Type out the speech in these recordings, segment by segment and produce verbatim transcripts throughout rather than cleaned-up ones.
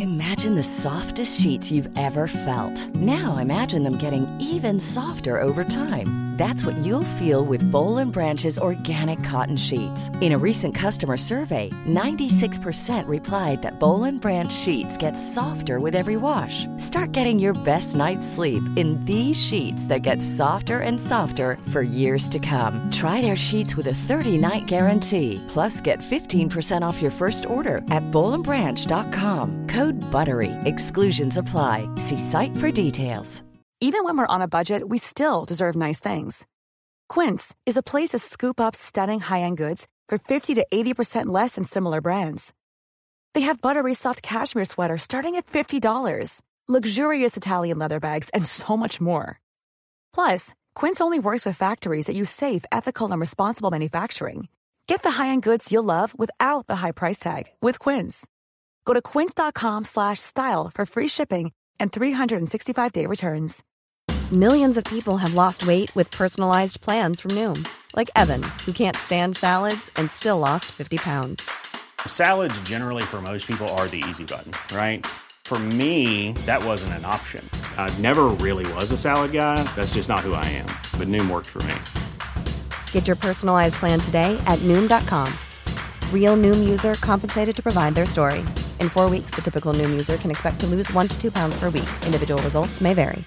Imagine the softest sheets you've ever felt. Now imagine them getting even softer over time. That's what you'll feel with Boll and Branch's organic cotton sheets. In a recent customer survey, ninety-six percent replied that Boll and Branch sheets get softer with every wash. Start getting your best night's sleep in these sheets that get softer and softer for years to come. Try their sheets with a thirty-night guarantee. Plus, get fifteen percent off your first order at boll and branch dot com. Code BUTTERY. Exclusions apply. See site for details. Even when we're on a budget, we still deserve nice things. Quince is a place to scoop up stunning high-end goods for fifty to eighty percent less than similar brands. They have buttery soft cashmere sweaters starting at fifty dollars, luxurious Italian leather bags, and so much more. Plus, Quince only works with factories that use safe, ethical, and responsible manufacturing. Get the high-end goods you'll love without the high price tag with Quince. Go to quince.com slash style for free shipping and three sixty-five day returns. Millions of people have lost weight with personalized plans from Noom. Like Evan, who can't stand salads and still lost fifty pounds. Salads generally for most people are the easy button, right? For me, that wasn't an option. I never really was a salad guy. That's just not who I am. But Noom worked for me. Get your personalized plan today at Noom dot com. Real Noom user compensated to provide their story. In four weeks, the typical Noom user can expect to lose one to two pounds per week. Individual results may vary.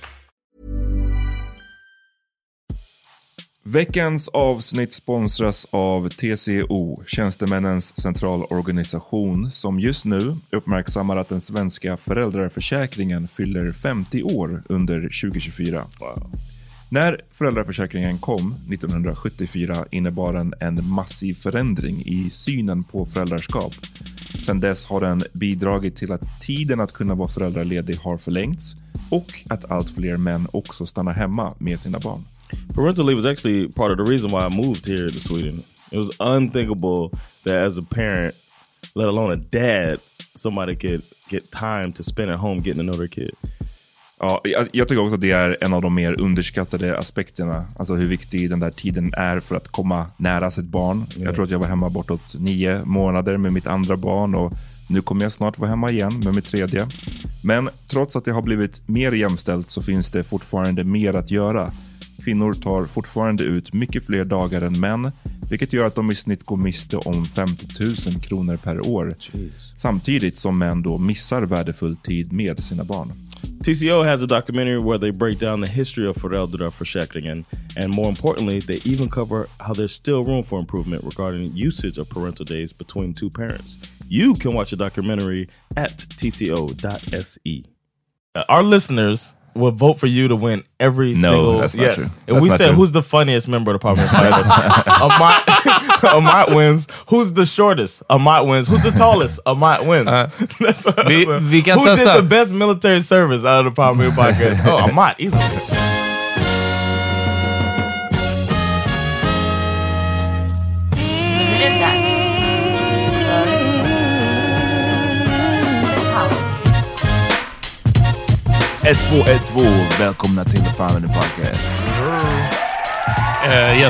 Veckans avsnitt sponsras av T C O, Tjänstemännens centralorganisation, som just nu uppmärksammar att den svenska föräldraförsäkringen fyller femtio år under tjugo tjugofyra. Wow. När föräldraförsäkringen kom nittonhundrasjuttiofyra innebar den en massiv förändring i synen på föräldraskap. Sedan dess har den bidragit till att tiden att kunna vara föräldraledig har förlängts och att allt fler män också stannar hemma med sina barn. Parental leave was actually part of the reason why I moved here to Sweden. It was unthinkable that as a parent, let alone a dad, somebody could get time to spend at home getting to know their kid. Ja, jag, jag tycker också att det är en av de mer underskattade aspekterna. Alltså hur viktig den där tiden är för att komma nära sitt barn. Yeah. Jag tror att jag var hemma bortåt nio månader med mitt andra barn och nu kommer jag snart vara hemma igen med mitt tredje. Men trots att det har blivit mer jämställt så finns det fortfarande mer att göra. Kvinnor tar fortfarande ut mycket fler dagar än män, vilket gör att de i snitt går miste om femtio tusen kronor per år. Jeez. Samtidigt som män då missar värdefull tid med sina barn. T C O has a documentary where they break down the history of föräldraförsäkringen, and more importantly, they even cover how there's still room for improvement regarding usage of parental days between two parents. You can watch the documentary at t c o dot s e. Uh, our listeners will vote for you to win every no, single... No, that's not yes. true. If that's we not said true. who's the funniest member of the Parliament, Amat, Amat wins. Who's the shortest? Amat wins. Who's the tallest? Amat wins. Uh, vi, vi kan Who testa. did the best military service out of the Parliament podcast? Oh, Amat, easily. ett två ett två, välkomna till The Parliament Podcast. Uh, yes.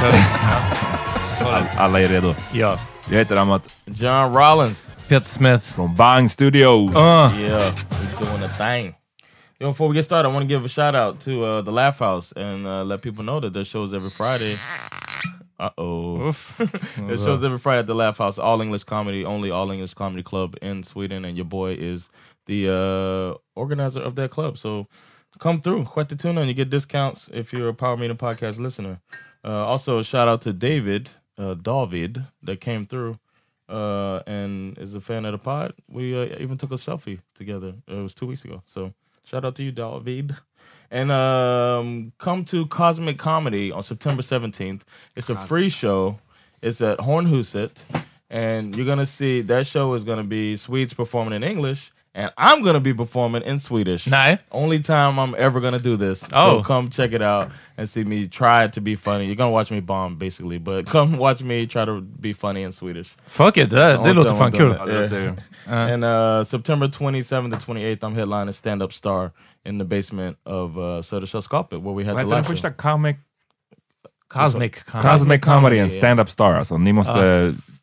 All, alla är redo. Ja. Jag heter Amat. John Rollins. Peter Smith. Från Bang Studios. Uh. Yeah, he's doing a thing. Yo, before we get started, I want to give a shout out to uh, the Laugh House and uh, let people know that their shows every Friday. Uh-oh. Their shows every Friday at the Laugh House. All English comedy, only all English comedy club in Sweden. And your boy is the uh, organizer of that club. So come through. Sköttetuna, and you get discounts if you're a Power Meeting Podcast listener. Uh, also, a shout out to David, uh, David, that came through uh, and is a fan of the pod. We uh, even took a selfie together. It was two weeks ago. So shout out to you, David. And um, come to Cosmic Comedy on September seventeenth. It's a free show. It's at Hornhuset. And you're going to see, that show is going to be Swedes performing in English. And I'm going to be performing in Swedish. Nej. Only time I'm ever going to do this. Oh. So come check it out and see me try to be funny. You're going to watch me bomb, basically. But come watch me try to be funny in Swedish. Fuck it, det, det låter fan kul. Yeah. Uh. And uh, September twenty-seventh and twenty-eighth, I'm headlining Stand Up Star in the basement of uh, Södersällskapet, where we had Vad the heter den live första show. comic? Cosmic Cosmic Comedy and Stand Up Star. Alltså, ni måste...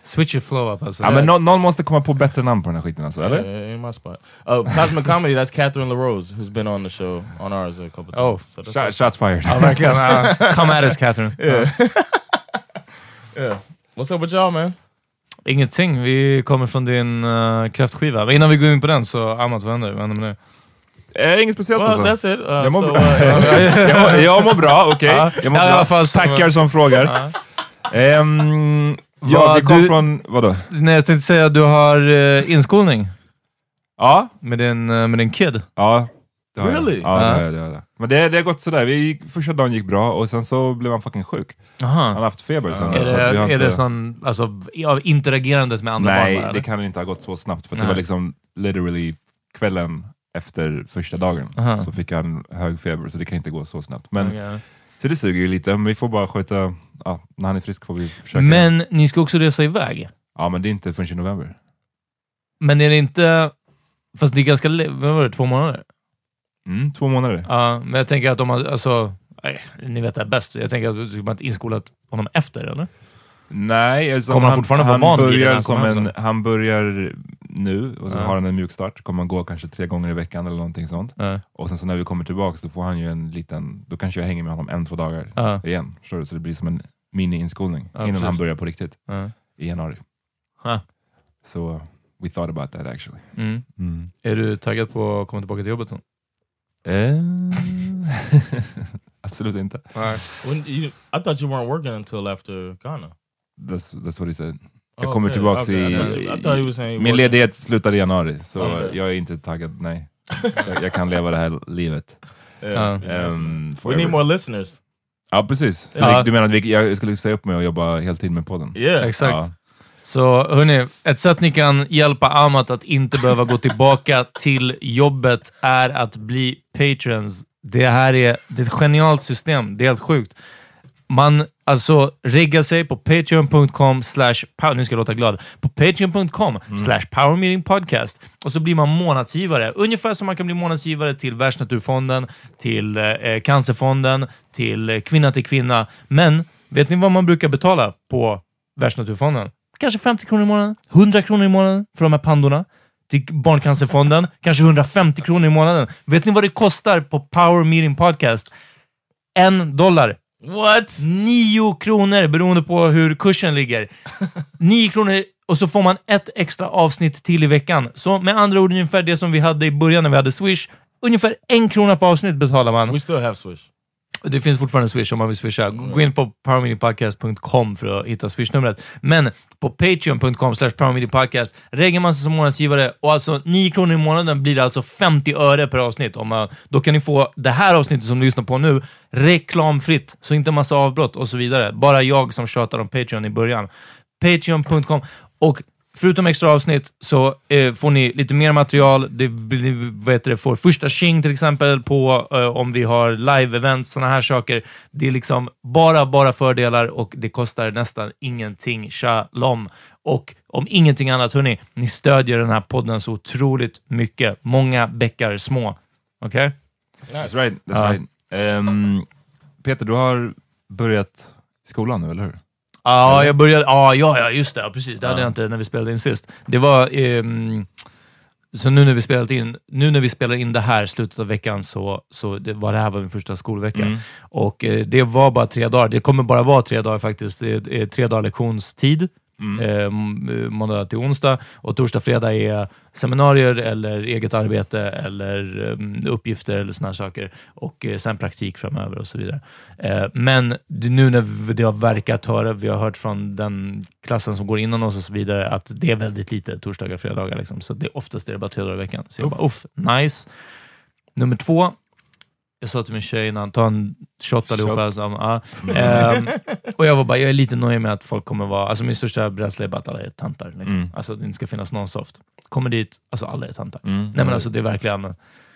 Switch your flow up alltså. Ja, men någon, någon måste komma på bättre namn på den här skiten alltså, eller? Yeah, in my spot. Uh, Cosmic Comedy, that's Catherine LaRose, who's been on the show, on ours a couple times. Oh, so Sh- shots fired. Ja, verkligen. Uh, come at us, Catherine. Yeah. Yeah. What's up with y'all, man? Ingenting, vi kommer från din uh, kräftskiva. Men innan vi går in på den så, Amat, vad händer? Vad händer med det? Eh, inget speciellt Well, alltså. that's it. Uh, Jag mår so, bra. uh, jag, mår, jag mår bra, okej. Ja. Jag mår Ja, i bra. alla fall så- Tackar som frågar. Ehm, ja, Vad vi kom du- från, vadå? Nej, jag tänkte säga att du har uh, inskolning Ja, med din, uh, med din kid. ja. Det har jag. Really? Ja, det Ja. har jag, det har jag. Men det, det har gått sådär. Vi gick, första dagen gick bra och sen så blev han fucking sjuk. Han har Aha. haft feber sen. Är så att det, vi har är inte... det sån, alltså, av interagerandet med andra barn? Nej, bara, det eller? kan inte ha gått så snabbt. För att Nej. det var liksom literally kvällen efter första dagen. Aha. Så fick han hög feber, så det kan inte gå så snabbt. Men Okej. så det suger ju lite. Men vi får bara sköta, ja, när han är frisk får vi försöka. Men ni ska också resa iväg. Ja, men det är inte förrän i november. Men är det inte... Fast det är ganska... le- Vad var det? Två månader? Mm, två månader. Ja, men jag tänker att om man... Alltså, nej, ni vet det här bäst. Jag tänker att du skulle inte inskolat honom efter, eller? Nej, alltså, Kommer han fortfarande vara van vid det när börjar han som kommer hem en, Han börjar nu och så Ja. har han en mjukstart. Kommer han gå kanske tre gånger i veckan eller någonting sånt. Ja. Och sen så när vi kommer tillbaka så får han ju en liten... Då kanske jag hänger med honom en, två dagar Ja. igen. Förstår du? Så det blir som en mini-inskolning Ja, innan precis. han börjar på riktigt Ja. i januari. Ha. Så uh, we thought about that actually. Mm. Mm. Är du taggad på att komma tillbaka till jobbet? Sen? Eh, Absolut inte. when you, I thought you weren't working until after Ghana. That's, that's what he said. Jag Oh, kommer okay, tillbaka okay. i... I thought you- I thought he was saying he min wasn't- ledighet slutar i januari, så Okay. jag är inte taggad, nej. jag, jag kan leva det här livet. Yeah, Ja. yeah, Um, we forever. need more listeners. Ja, precis. Så Ja. vi- du menar att vi, jag skulle säga upp mig och jobba heltid med podden? Yeah. Exakt. Ja. Så hörni, ett sätt ni kan hjälpa Amat att inte behöva gå tillbaka till jobbet är att bli patrons. Det här är, det är ett genialt system. Det är helt sjukt. Man alltså reggar sig på patreon punkt com slash power, nu ska jag låta glad, på patreon punkt com slash power meeting podcast och så blir man månadsgivare. Ungefär som man kan bli månadsgivare till Världsnaturfonden, till eh, Cancerfonden, till eh, Kvinna till kvinna. Men vet ni vad man brukar betala på Världsnaturfonden? Kanske femtio kronor i månaden, hundra kronor i månaden för de här pandorna. Till Barncancerfonden, kanske hundrafemtio kronor i månaden. Vet ni vad det kostar på Power Meeting Podcast? En dollar. What? Nio kronor beroende på hur kursen ligger. Nio kronor och så får man ett extra avsnitt till i veckan. Så med andra ord ungefär det som vi hade i början när vi hade Swish. Ungefär en krona på avsnitt betalar man. We still have Swish. Det finns fortfarande Swish om man vill swisha. Gå in på power meeting podcast punkt com för att hitta Swish-numret. Men på patreon punkt com slash power meeting podcast reggar man sig som månadsgivare och alltså nio kronor i månaden blir det alltså femtio öre per avsnitt. Om man, då kan ni få det här avsnittet som du lyssnar på nu reklamfritt, så inte massa avbrott och så vidare. Bara jag som tjatar om Patreon i början. patreon punkt com. Och förutom extra avsnitt så eh, får ni lite mer material. Det, det, vad heter det, får första tjing till exempel på eh, om vi har live-events, såna här saker. Det är liksom bara, bara fördelar och det kostar nästan ingenting. Shalom. Och om ingenting annat, hörni, ni stödjer den här podden så otroligt mycket. Många bäckar små. Okej? Okay? That's right. That's Ja. right. Ehm, Peter, du har börjat skolan nu, eller hur? Ja, jag började... Ja, ja, ja, just det. Ja, precis. Det hade jag inte när vi spelade in sist. Det var... ehm, så nu när vi spelat in... Nu när vi spelar in det här slutet av veckan så, så det var det här var min första skolvecka. Mm. Och eh, det var bara tre dagar. Det kommer bara vara tre dagar faktiskt. Det är, är tre dagar lektionstid. Mm. Eh, m- måndag till onsdag. Och torsdag, fredag är seminarier eller eget arbete eller um, uppgifter eller såna här saker. Och eh, sen praktik framöver och så vidare. Eh, men det, nu när det har verkat höra, vi har hört från den klassen som går innan oss och så vidare, att det är väldigt lite torsdagar och fredagar. Liksom. Så det, oftast är det bara tre dagar i veckan. Så jag bara, uff, nice. Nummer två. Jag sa till min tjej innan, ta en shot allihopa. Alltså, ja. ehm, och jag var bara, jag är lite nöjd med att folk kommer vara, alltså min största rädsla är bara att alla är tantar. Liksom. Mm. Alltså det inte ska finnas någon soft. Kommer dit, alltså alla är tantar. Mm. Nej men alltså det är verkligen,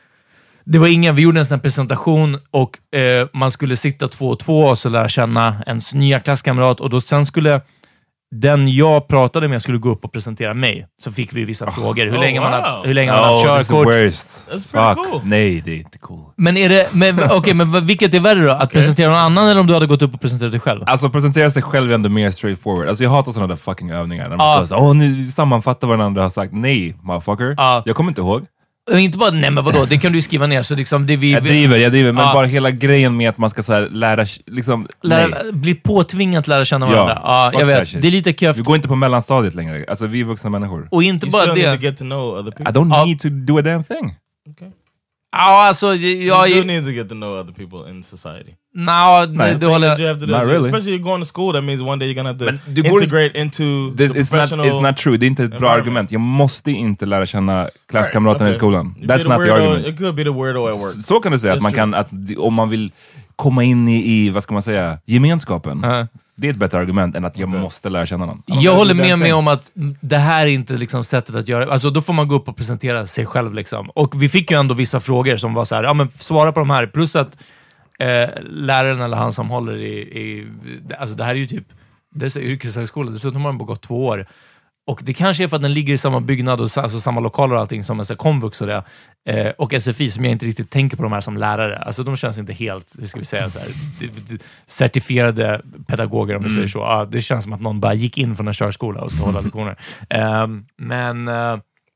det var ingen, vi gjorde en sån här presentation och eh, man skulle sitta två och två och så lära känna ens nya klasskamrat och då sen skulle den jag pratade med skulle gå upp och presentera mig. Så fick vi vissa oh. frågor. Hur oh, länge wow. man har hur länge man har oh, körkort. That's pretty cool. Nej, det är inte cool. Men är det men okej, okay, men vilket är värre då? Att okay. presentera någon annan eller om du hade gått upp och presenterat dig själv? Alltså presentera sig själv är ändå mer straightforward. Alltså jag hatar sådana där fucking övningar. När man ah. bara så, åh, nu sammanfattar vad den andra har sagt. Nej, motherfucker. Ah. Jag kommer inte ihåg. Och inte bara, nej men vadå, det kan du skriva ner. Så liksom det vi, jag driver, jag driver. Men ah. bara hela grejen med att man ska så här, lära, liksom, lära bli påtvingat lära känna varandra. Ja, ah, jag vet. Det är lite köft. Vi går inte på mellanstadiet längre. Alltså vi är vuxna människor. Och inte you bara still det. Need to get to know other people. I don't ah. need to do a damn thing. Okay. Ja, alltså jag... You do need to get to know other people in society. No, det, det håller jag... Not really. Especially you're going to school, that means one day you're gonna have to Men integrate into this, the it's professional... Not, it's not true. Det är inte ett bra argument. Jag måste inte lära känna klasskamraterna right. okay. i skolan. That's not the argument. It could be the weirdo at work. Så kan du säga. Att man kan, att om man vill komma in i, i vad ska man säga, gemenskapen. Uh-huh. Det är ett bättre argument än att jag okay. måste lära känna någon. Jag håller med mig om att det här är inte liksom sättet att göra. Alltså då får man gå upp och presentera sig själv liksom. Och vi fick ju ändå vissa frågor som var så här, ja men svara på de här. Plus att eh, läraren eller han som håller i, i alltså det här är ju typ, det är yrkeshögskola, dessutom har den bara gått två år. Och det kanske är för att den ligger i samma byggnad och alltså samma lokaler och allting som en komvux och det. Eh, och S F I som jag inte riktigt tänker på de här som lärare. Alltså de känns inte helt, hur ska vi säga så här, certifierade pedagoger om vi mm. säger så. Ah, det känns som att någon bara gick in från en körskola och ska hålla lektioner. Eh, men eh,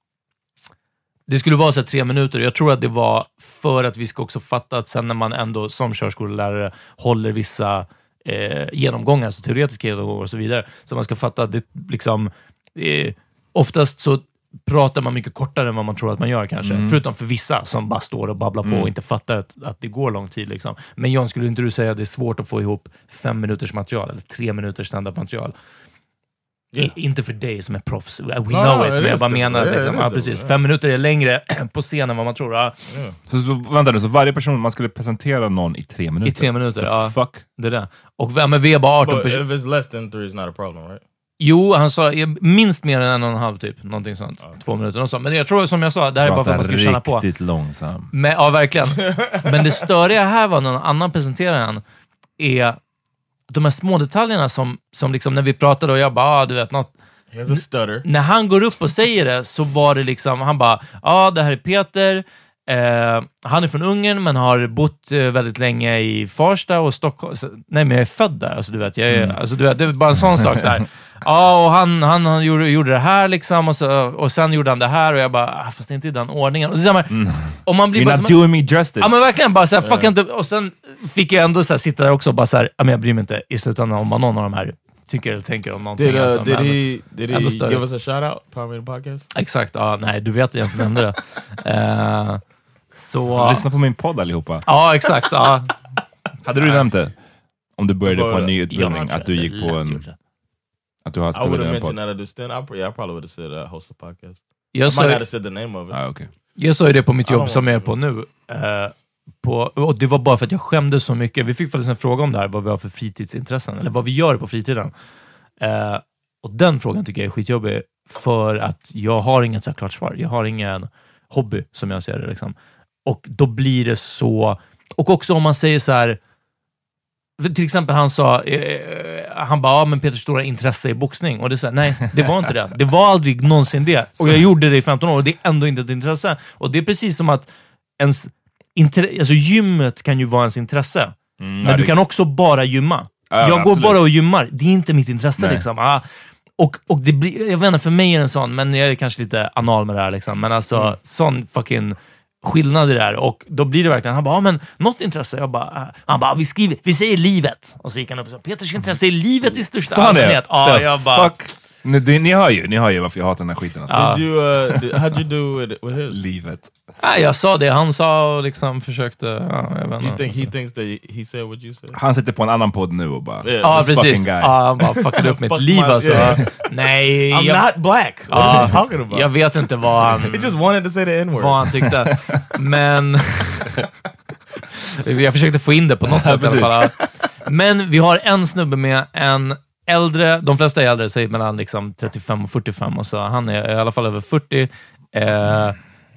det skulle vara så här tre minuter. Jag tror att det var för att vi ska också fatta att sen när man ändå som körskollärare håller vissa eh, genomgångar, alltså teoretiska genomgångar och så vidare. Så man ska fatta att det liksom Eh, oftast så pratar man mycket kortare än vad man tror att man gör kanske. Mm. Förutom för vissa som bara står och babblar på mm. och inte fattar att, att det går lång tid. Liksom. Men John, skulle inte du säga att det är svårt att få ihop fem minuters material eller tre minuters standard material? Yeah. I, inte för dig som är proffs. We know ah, it. Men jag bara menar att liksom, ja, precis, fem minuter är längre på scenen än vad man tror. Ja. Yeah. Så, så, vänta nu, så varje person, man skulle presentera någon i tre minuter? I tre minuter, The ja. Fuck? Det där. Och men vi är bara arton personer. If it's less than three it's not a problem, right? Jo, han sa minst mer än en och en halv typ. Någonting sånt. Okay. Två minuter. Och så. Men jag tror som jag sa, det här är bara för att man ska känna på. Riktigt långsam. Men, ja, verkligen. Men det störiga här var någon annan presenteraren är de här små detaljerna som, som liksom när vi pratade och jag bara, ah, du vet något. He has a stutter. När han går upp och säger det så var det liksom, han bara, ja ah, det här är Peter. Eh, han är från Ungern men har bott eh, väldigt länge i Farsta och Stockholm. Så, nej, men jag är född där. Alltså, du vet, jag är, mm. alltså, du vet, det är bara en sån sak. Så här. Ja, och han, han, han gjorde, gjorde det här liksom och, så, och sen gjorde han det här och jag bara, ah, fast det är inte i den ordningen. Och, så, här, mm. och man blir You're bara not som, doing me justice. Ja, men verkligen bara så här, fuck inte. Och sen fick jag ändå så här, sitta där också och bara så här, ja, men jag bryr mig inte i slutändan om vad någon av de här tycker eller tänker om någonting. Did, uh, alltså, did men, he, did he give us a shout out? Power Meter Podcast? Exakt, ja, nej, du vet egentligen ändå det. Uh, Så, lyssna på min podd allihopa. Ja, exakt. Ja. Hade du nämnt det? Om du började på en ny utbildning, att du gick på en... Att du har spelat en podd. I would have mentioned that I do stand. I, yeah, I probably would have said uh, host a podcast. Jag I sa, might have said the name of it. Ah, okay. Jag sa ju det på mitt jobb som jag är på nu. Uh, på, och det var bara för att jag skämdes så mycket. Vi fick faktiskt en fråga om det här, vad vi har för fritidsintressen. Eller vad vi gör på fritiden. Uh, och den frågan tycker jag är skitjobbig. För att jag har inget så klart svar. Jag har ingen hobby, som jag ser det liksom. Och då blir det så... Och också om man säger så här... Till exempel han sa... Eh, han bara, ja men Peters stora intresse i boxning. Och det sa nej, det var inte det. Det var aldrig någonsin det. Och jag gjorde det i femton år och det är ändå inte ett intresse. Och det är precis som att ens... Intre- alltså gymmet kan ju vara ens intresse. Mm, men du det... kan också bara gymma. Ja, jag absolut. går bara och gymmar. Det är inte mitt intresse nej. liksom. Ah, och, och det blir... Jag vet inte, för mig är det en sån... Men jag är kanske lite anal med det här liksom. Men alltså, mm. sån fucking... skillnad i det här, och då blir det verkligen han bara, ja, men något intresse, jag bara, han bara, vi skriver, vi säger livet, och så gick han upp och sa, Peters intresse är livet i största allmänhet. Ja, jag bara, fuck. Ni, det, ni hör ju, ni hör ju varför jag hatar den här skiten. Alltså. Ja. Did you, uh, did, how'd you do with, with his? Livet. Ja, jag sa det, han sa och liksom försökte, ja, jag vet inte. You think he thinks that he said what you said? Han sitter på en annan podd nu och bara, yeah. Ja, precis. Ja, han bara fuckade upp mitt liv, alltså. Yeah. Nej. I'm jag, not black. What ja, are you talking about? Jag vet inte vad han... He just wanted to say the N-word. Vad han tyckte. Men... jag försökte få in det på något sätt i alla fall. Men vi har en snubbe med en äldre, de flesta är äldre, säger mellan liksom trettiofem och fyrtiofem, och så han är i alla fall över fyrtio. Eh,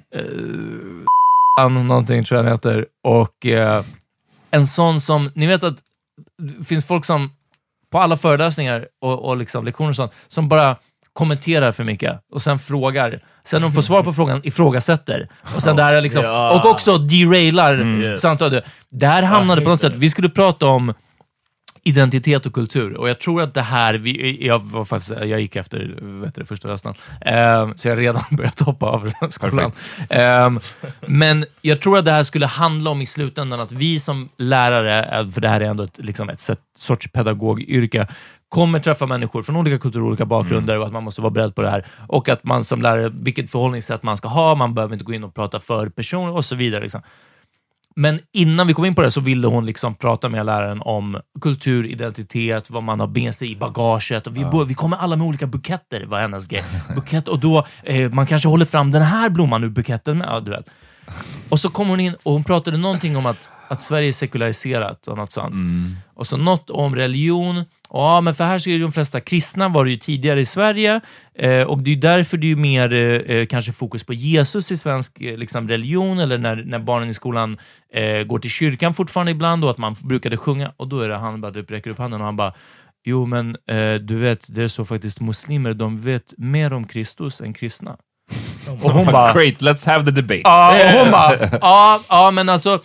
eh, någonting tror jag han heter. Och eh, en sån som, ni vet att det finns folk som på alla föreläsningar och, och liksom lektioner och sånt, som bara kommenterar för mycket och sen frågar. Sen de får svar på frågan, ifrågasätter. Och sen där liksom, ja. och också derailar Mm, yes. samtalet. Där hamnade på något sätt, vi skulle prata om identitet och kultur. Och jag tror att det här, vi, jag, var faktiskt, jag gick efter vet du, första rösten. Um, så jag redan börjat hoppa av skolan. Um, men jag tror att det här skulle handla om i slutändan att vi som lärare, för det här är ändå ett, liksom ett sätt, sorts pedagogyrke, kommer träffa människor från olika kulturer och olika bakgrunder mm. och att man måste vara beredd på det här. Och att man som lärare, vilket förhållningssätt man ska ha, man behöver inte gå in och prata för personer och så vidare. Liksom. Men innan vi kom in på det så ville hon liksom prata med läraren om kultur, identitet, vad man har med sig i bagaget. Och vi, ja. vi kommer alla med olika buketter, var hennes grej. Bukett, och då, eh, man kanske håller fram den här blomman ur buketten med, ja, du vet. Och så kom hon in och hon pratade någonting om att, att Sverige är sekulariserat och något sånt. Mm. Och så något om religion. Ja, men för här så är de flesta kristna var det ju tidigare i Sverige. Eh, och det är därför det är mer eh, kanske fokus på Jesus i svensk eh, liksom religion. Eller när, när barnen i skolan eh, går till kyrkan fortfarande ibland. Och att man brukade sjunga. Och då är det han bara typ räcker upp handen och han bara, jo men eh, du vet, det är så faktiskt muslimer, de vet mer om Kristus än kristna. Och hon bara, great, let's have the debate. Ja, och hon bara, ja, ja men alltså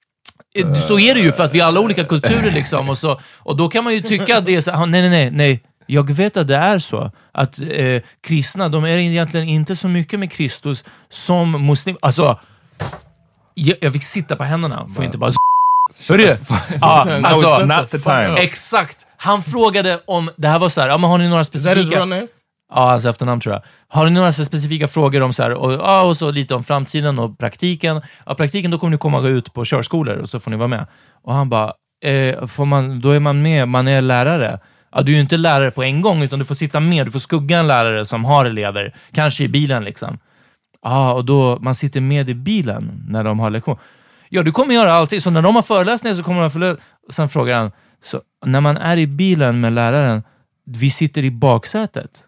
så är det ju för att vi har alla olika kulturer liksom och, så, och då kan man ju tycka att det är så, nej nej nej nej jag vet att det är så att eh, kristna, de är egentligen inte så mycket med Kristus som muslim, alltså jag, jag fick sitta på händerna får inte bara hörru, ja, alltså not the time. Exakt, han frågade om det här var så här, ja men har ni några specifika ja, alltså efternamn tror jag. Har ni några specifika frågor om så här, och, ja, och så lite om framtiden och praktiken. Ja, praktiken, då kommer ni komma ut på körskolor och så får ni vara med. Och han bara, eh, får man, då är man med, man är lärare. Ja, du är ju inte lärare på en gång utan du får sitta med, du får skugga en lärare som har elever. Kanske i bilen liksom. Ja, och då, man sitter med i bilen när de har lektion. Ja, du kommer göra alltid, så när de har föreläsningar så kommer de förlösa. Sen frågar han, så när man är i bilen med läraren, vi sitter i baksätet.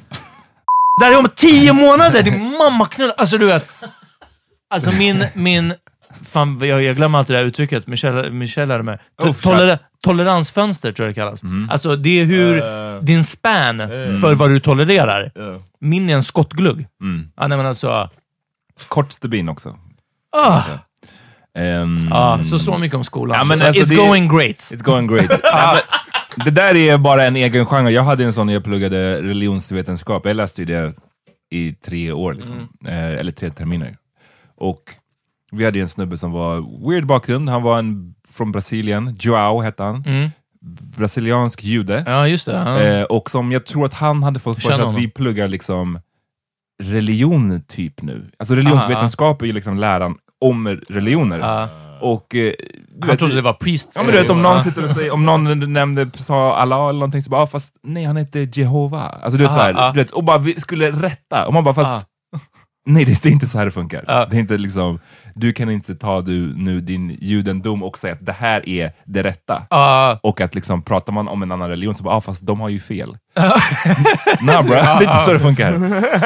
Där är om tio månader, din mamma knullar. Alltså du vet. Alltså min, min fan, jag, jag glömmer alltid det här uttrycket. Michelle, Michelle är med. To- toler- toleransfönster tror jag det kallas. Mm. Alltså det är hur uh, din span uh, för vad du tolererar. Uh. Min är en skottglugg. Mm. Ja, nej men alltså. Kort stubin också. Ah. Um, ah, så så mycket om skolan. Ja, men alltså, it's, going great. It's going great. Ja, men, det där är bara en egen genre. Jag hade en sån när jag pluggade religionsvetenskap. Jag läste ju det i tre år liksom. Mm. Eh, eller tre terminer. Och vi hade en snubbe som var weird bakgrund. Han var en från Brasilien. Joao hette han. Mm. Brasiliansk jude. Ja, just det. Ja. Eh, och som jag tror att han hade fått för sig att vi pluggar liksom religion typ nu. Alltså religionsvetenskap ah, är ju liksom läran om religioner. Ah. Och eh, jag trodde det var priest. Ja, men du vet, om någon sitter och säger, om någon nämnde sa Allah eller någonting så bara, ah, fast nej, han heter Jehova. Alltså du vet så här, ah. du vet, och bara vi skulle rätta. Och man bara, fast ah. nej, det, det är inte så här det funkar. Ah. Det är inte liksom, du kan inte ta du nu din judendom och säga att det här är det rätta. Ah. Och att liksom, pratar man om en annan religion så bara, ah, fast de har ju fel. Nej bro, det är inte så det funkar.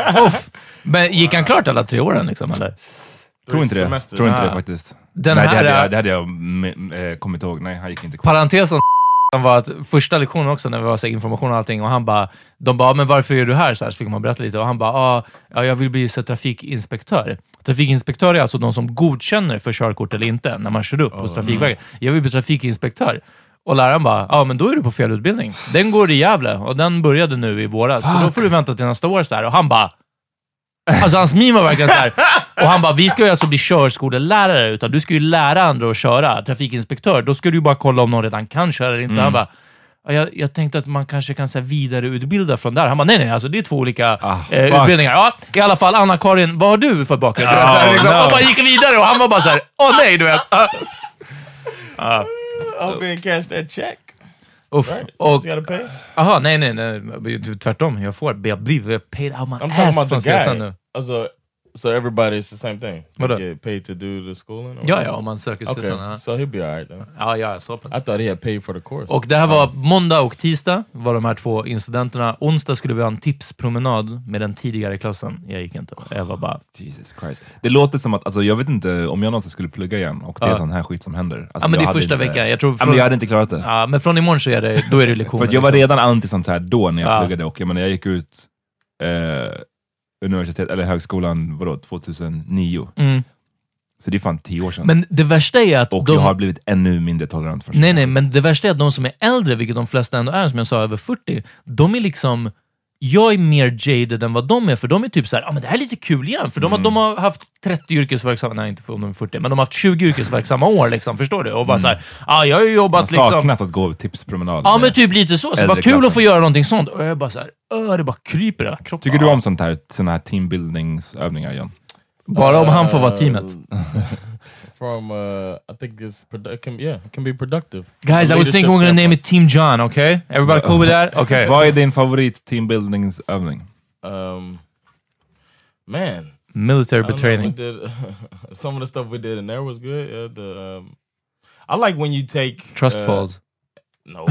Men gick han klart alla tre åren liksom, eller? Tror inte det. Tror inte ah. det faktiskt. Den nej, här, det, hade jag, det hade jag m- kommit ihåg. Nej, han gick inte kvar. Parentesen var att första lektionen också när vi var så information och allting och han bara, de bara, men varför är du här? Så, här, så fick man berätta lite och han bara, ah, ja, jag vill bli så trafikinspektör. Trafikinspektör är alltså de som godkänner för körkort eller inte när man kör upp oh, hos Trafikverket. Mm. Jag vill bli trafikinspektör. Och läraren bara, ja men då är du på fel utbildning. Den går i Gävle och den började nu i våras. Så då får du vänta till nästa år så här. Och han bara, alltså hans meme var verkligen så här. Och han bara, vi ska ju alltså bli körskolelärare utan du ska ju lära andra att köra. Trafikinspektör, då ska du ju bara kolla om någon redan kan köra eller inte. Mm. Han bara, jag, jag tänkte att man kanske kan så här, vidareutbilda från där. Han bara, nej nej, alltså det är två olika ah, eh, utbildningar. Ja, i alla fall, Anna-Karin, vad har du för bakgrund? Oh, så här, liksom, no. Och bara gick vidare och han var bara så här, åh nej, du vet. Uh. Uh. I'll be cash that check. Uff, right. Och aha, nej nej nej tvärtom, jag får jag blir paid out my ass från C S N nu. Alltså So everybody's the same thing? What They get paid to do the schooling? Or Ja, ja, om man söker sig okay. sådana. So he'll be all right then. Ja, ja, så pass. I thought he had paid for the course. Och det här var måndag och tisdag var de här två incidenterna. Onsdag skulle vi ha en tipspromenad med den tidigare klassen. Jag gick inte. Jag var bara... Jesus Christ. Det låter som att, alltså jag vet inte om jag någonsin skulle plugga igen och det är Ja. sån här skit som händer. Alltså, Ja, men det är jag första hade inte- veckan. Jag tror Ja, från... men jag hade inte klarat det. Ja, men från imorgon så är det, då är det lektioner. För att jag var liksom. redan anti sånt här då när jag Ja. pluggade och jag menar jag gick ut eh, universitet eller högskolan vadå, tjugohundranio. Mm. Så det är fan tio år sedan. Men det värsta är att och de... jag har blivit ännu mindre tolerant för Nej, nej, men det värsta är att de som är äldre, vilket de flesta ändå är, som jag sa, över fyrtio, de är liksom... Jag är mer jaded än vad de är, för de är typ så här, ja ah, men det här är lite kul igen, för de, har, de har haft trettio yrkesverksamma, nej inte om de är fyrtio, men de har haft tjugo yrkesverksamma år liksom, förstår du? Och bara så här, ja ah, jag har ju jobbat Jag har liksom... saknat att gå tipspromenad. Ja, men typ lite så. Så det var kul klassen. att få göra någonting sånt. Och jag bara så här, öh, det bara kryper i hela kroppen. Tycker du om sånt här, såna här teambuildingsövningar, John? Bara om han får vara teamet. From, uh, I think it's, produ- it can, yeah, it can be productive. Guys, I was thinking we're gonna name it Team John, okay? Everybody cool with that? Okay. Vad är din favorit teambuildingsövning? Um, man. Military I don't know, betraying. we did, some of the stuff we did in there was good. Yeah, the, um, I like when you take... Trust uh, falls. No.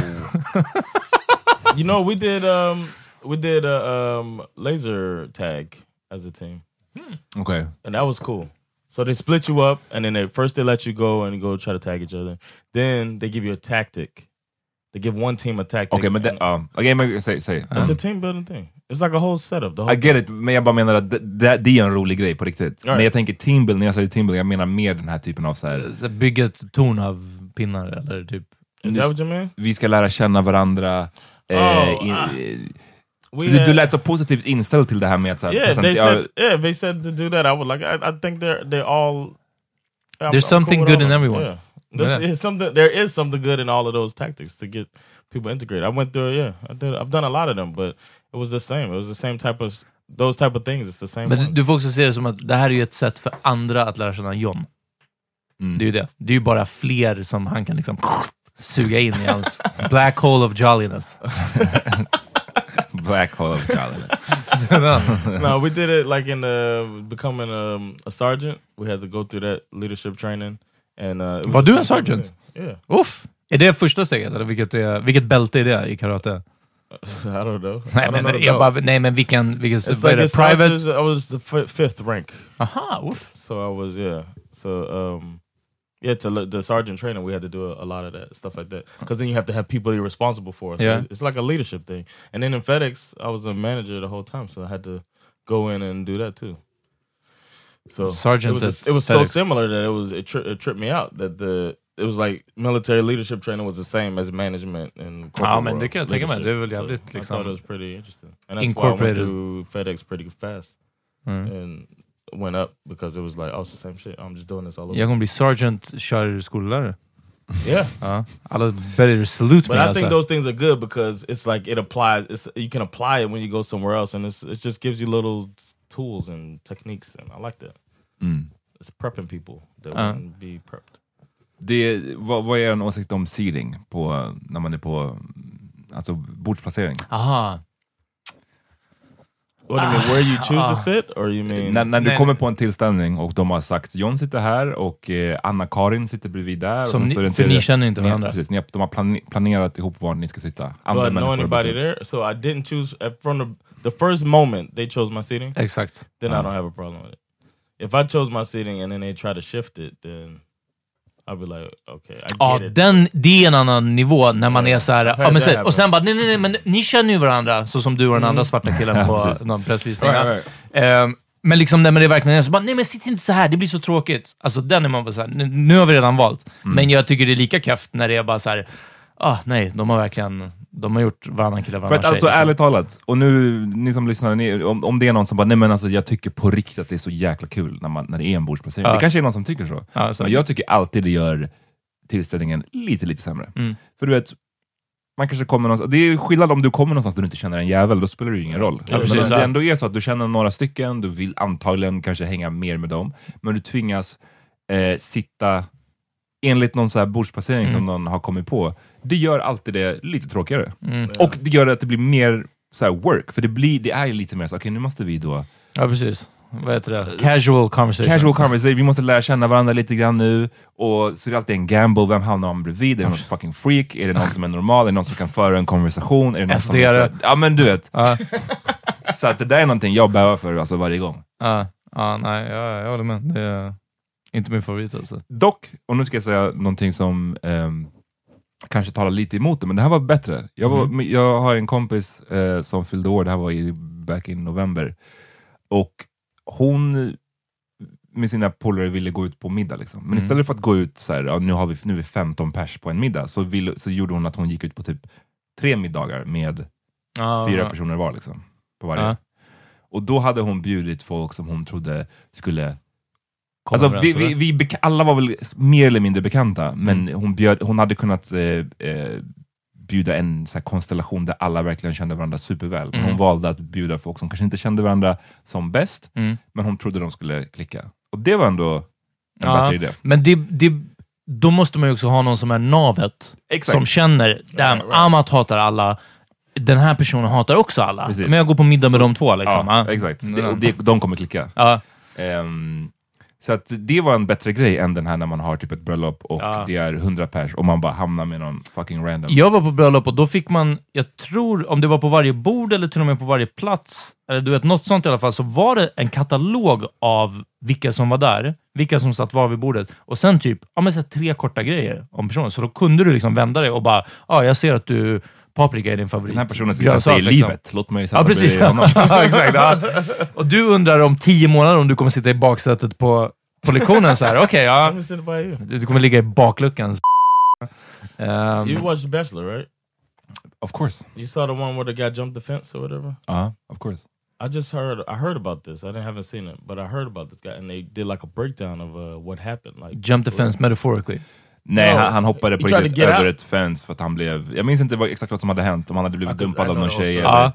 You know, we did um we did a um laser tag as a team. Okej. Okay. And that was cool. So they split you up and then they first they let you go and go try to tag each other. Then they give you a tactic. They give one team a tactic. Okej, men det, ja. Okej, men säg, säg. It's a team building thing. It's like a whole setup. The whole I get it, men jag bara menar att det, det, det är en rolig grej på riktigt. Right. Men jag tänker teambuilding, när jag säger teambuilding, jag menar mer den här typen av så här. Så bygga ett torn av pinnar eller typ... Is that what you mean? Vi ska lära känna varandra. Oh, eh, in, uh, du, had, du lät så positivt inställd till det här med att så här, yeah, they presentera- said, yeah, they said to do that. I would like. I, I think they're they all. I'm- There's I'm something cool with good all in of them. everyone. Yeah. This Yeah. is something. There is something good in all of those tactics to get people integrated. I went through. Yeah, I did. I've done a lot of them, but it was the same. It was the same type of those type of things. It's the same. Men du, one. du får också se det som att det här är ju ett sätt för andra att lära känna John. Mm. Det är ju det. Det är ju bara fler som han kan liksom suga in i hans black hole of jolliness. Black hole of challenge. No, we did it like in the becoming um, a sergeant. We had to go through that leadership training. And uh, it Var was du the en same type of sergeant? thing. Yeah. Uff! Är det första steget? Eller vilket, är, vilket bälte är det i karate? I don't know. Nej, I don't men, know the jag bara, belts. nej, men vilken... vilken It's vad är like det? it starts Private? as- I was the f- fifth rank. Aha, uff. So I was, yeah. So, um, yeah, to le- the sergeant training, we had to do a, a lot of that stuff like that. Because then you have to have people you're responsible for. So Yeah. it's like a leadership thing. And then in FedEx, I was a manager the whole time, so I had to go in and do that too. So Sergeant it was, at it was so FedEx. similar that it was it, tri- it tripped me out that the it was like military leadership training was the same as management and corporate Ja, men det world kan jag tänka mig. leadership. Det är väl jävligt, So I liksom, thought it was pretty interesting. And that's why I went incorporated. through FedEx pretty fast Mm. and went up because it was like, oh, it's the same shit. I'm just doing this all over. Jag kommer bli sergeant, kör skollärare. Yeah. Ja. Alla better salute But me I alltså. think those things are good because it's like it applies. It's you can apply it when you go somewhere else, and it's it just gives you little tools and techniques, and I like that. Mm. It's prepping people that Uh. wouldn't be prepped. Det, vad, vad är en åsikt om seating på, när man är på alltså bordsplacering? Aha. What do you mean? Where you choose Ah. to sit, or you mean? När, när du Nej, kommer nej. på en tillställning och de har sagt John sitter här och eh, Anna-Karin sitter bredvid där. Som och sen ni- så är det en för tredje- ni känner inte Ni- varandra. Precis, ni har, de har plane- planerat ihop var ni ska sitta. Do I know människor anybody bredvid. there? So I didn't choose uh, from the the first moment they chose my seating. Exakt. Then Uh. I don't have a problem with it. If I chose my seating and then they try to shift it, then I'll be like, okay, I Ja, get it. den, det är en annan nivå när man Ja, är så här, I've ja, had men that så, och sen bara, nej, nej, nej, men ni känner ju varandra, så som du och den andra svarta killen på precis. någon pressvisning. Right, Ehm, men liksom när man är verkligen är så bara, nej men sitt inte så här, det blir så tråkigt. Alltså den är man bara så här, nu, nu har vi redan valt. Men jag tycker det är lika kräft när det är bara så här, ah, nej, de har verkligen, de har gjort varannan kille, För varannan att tjej. alltså liksom. ärligt talat, och nu ni som lyssnar, ni, om, om det är någon som bara, nej men alltså jag tycker på riktigt att det är så jäkla kul när, man, när det är en bordsplacering. Ja. Det kanske är någon som tycker så. Ja, så. Men jag tycker alltid det gör tillställningen lite, lite sämre. Mm. För du vet, man kanske kommer någonstans, det är skillnad om du kommer någonstans där du inte känner en jävel, då spelar det ju ingen roll. Ja, men precis, om det ja. ändå är så att du känner några stycken, du vill antagligen kanske hänga mer med dem, men du tvingas eh, sitta enligt någon så här bordsplacering Mm. som någon har kommit på. Det gör alltid det lite tråkigare. Mm. Och det gör att det blir mer så här work, för det, blir, det är ju lite mer så, okej okay, nu måste vi då Ja, precis. vad heter det? Casual conversation. Casual conversation. Vi måste lära känna varandra lite grann nu. Och så är det alltid en gamble. Vem hamnar man bredvid? Är det någon fucking freak? Är det någon som är normal? Är det någon som kan föra en konversation? Är det någon som är så, ja, men du vet. Ja. Så att det där är någonting jag bävar för alltså, varje gång. Ja, ja nej, jag, jag håller med. Det är inte min favorit alltså. Dock, och nu ska jag säga någonting som um, kanske talar lite emot det, men det här var bättre. Jag, var, mm. jag har en kompis uh, som fyllde år, det här var i back in november. Och hon med sina polare ville gå ut på middag liksom. Men mm. istället för att gå ut så här, ja, nu har vi nu är vi femton pers på en middag, så, vill, så gjorde hon att hon gick ut på typ tre middagar med ah, fyra personer var liksom. På varje. Ah. Och då hade hon bjudit folk som hon trodde skulle... Alltså, vi, vi, vi beka- alla var väl mer eller mindre bekanta, men mm. hon, bjöd, hon hade kunnat eh, eh, bjuda en så här konstellation där alla verkligen kände varandra superväl. Men mm. hon valde att bjuda folk som kanske inte kände varandra som bäst, mm. men hon trodde de skulle klicka. Och det var ändå en ja, bättre idé. Men det, det, då måste man ju också ha någon som är navet. Exakt. Som känner, damn, right, right. Amat hatar alla. Den här personen hatar också alla. Precis. Men jag går på middag med så, de två liksom. Ja, ja. Exakt. Det, och det, de kommer klicka. Ja. Um, så att det var en bättre grej än den här när man har typ ett bröllop och ja. det är hundra pers och man bara hamnar med någon fucking random. Jag var på bröllop och då fick man, jag tror om det var på varje bord eller till och med på varje plats, eller du vet något sånt i alla fall, så var det en katalog av vilka som var där, vilka som satt var vid bordet och sen typ, ja men så tre korta grejer om personen. Så då kunde du liksom vända dig och bara, ja jag ser att du paprika är din favorit. Den här personen ska säga i livet. Liksom. Låt mig sätta ja, precis. Ja, exakt. Ja. Och du undrar om tio månader om du kommer sitta i baksätet på, på lektionen så här. Okej, okay, ja. Du kommer ligga i bakluckan. Um, you watched The Bachelor, right? Of course. You saw the one where the guy jumped the fence or whatever? Uh-huh, of course. I just heard I heard about this. I didn't haven't seen it, but I heard about this guy and they did like a breakdown of uh, what happened. Like jump the fence metaphorically. Nej, no, han, han hoppade på riktigt över ett fence för att han blev... Jag minns inte vad, exakt vad som hade hänt. Om han hade blivit dumpad av någon tjej eller...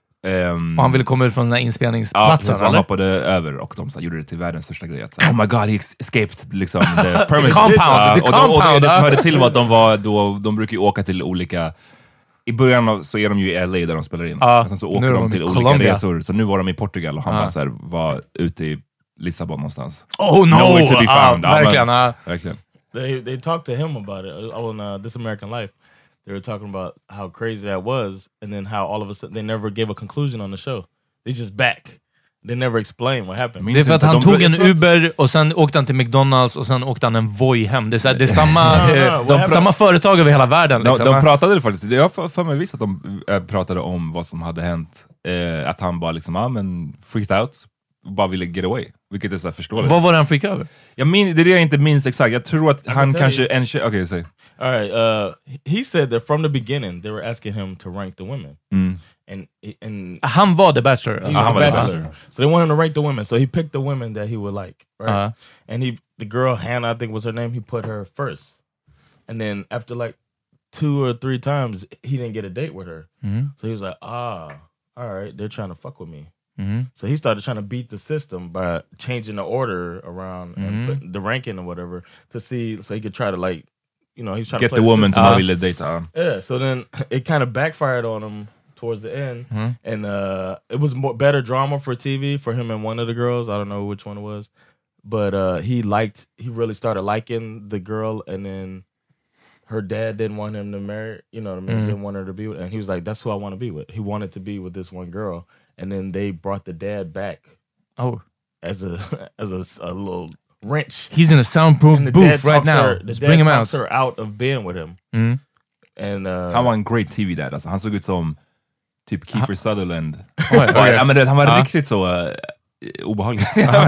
Um, och han ville komma ut från den här inspelningsplatsen, ja, han hoppade över och de så, gjorde det till världens största grej. Så, oh my god, he escaped liksom, the permanent compound. Uh, och, de, och, det, och det som hörde till var att de var då, de brukar ju åka till olika... I början av, så är de ju i L A där de spelar in. Uh, och sen så åker de, de till olika Colombia. resor. Så nu var de i Portugal och han uh. var, så här, var ute i Lissabon någonstans. Oh no! Nowhere to be found. Uh, verkligen. Uh. Verkligen. They they talked to him about it on uh, This American Life. They were talking about how crazy that was, and then how all of a sudden they never gave a conclusion on the show. They just back. They never explained what happened. Det är för att han de tog en Uber och sen åkte han till McDonalds och sen åkte han en Voi hem. Det är, så här, det är samma, no, no, no. De, samma företag över hela världen. Liksom. De, de pratade faktiskt, jag har för mig visst att de äh, pratade om vad som hade hänt. Äh, att han bara liksom, ja men freaked out. Bara ville get away. Vilket är så här förståeligt. Vad var det han freakade över? Jag min, det är det jag inte minns exakt. Jag tror att han kanske... En, okej, okay, säg. All right, uh, he said that from the beginning they were asking him to rank the women. Mm. And, and han var the bachelor. He was uh, the bachelor. So they wanted him to rank the women. So he picked the women that he would like. Right? Uh-huh. And he, the girl, Hannah, I think was her name, he put her first. And then after like two or three times, he didn't get a date with her. Mm-hmm. So he was like, ah, all right, they're trying to fuck with me. Mm-hmm. So he started trying to beat the system by changing the order around mm-hmm. and put the ranking or whatever to see, so he could try to like, you know, he's trying get to play the woman to uh, ville data. Yeah, so then it kind of backfired on him towards the end, mm-hmm. and uh, it was more better drama for T V for him and one of the girls. I don't know which one it was, but uh, he liked, he really started liking the girl, and then her dad didn't want him to marry, you know, mm-hmm. didn't want her to be with, and he was like, "That's who I want to be with." He wanted to be with this one girl. And then they brought the dad back. Oh, as a as a, a little wrench. He's in a soundproof booth right now. Her, the Just dad bring him talks out. her out of being with him. Mm. And uh, han var en great T V dad. Alltså, han såg ut som typ Kiefer ha Sutherland. Oh, okay. Ja, men det, han var uh. riktigt så uh, obehaglig.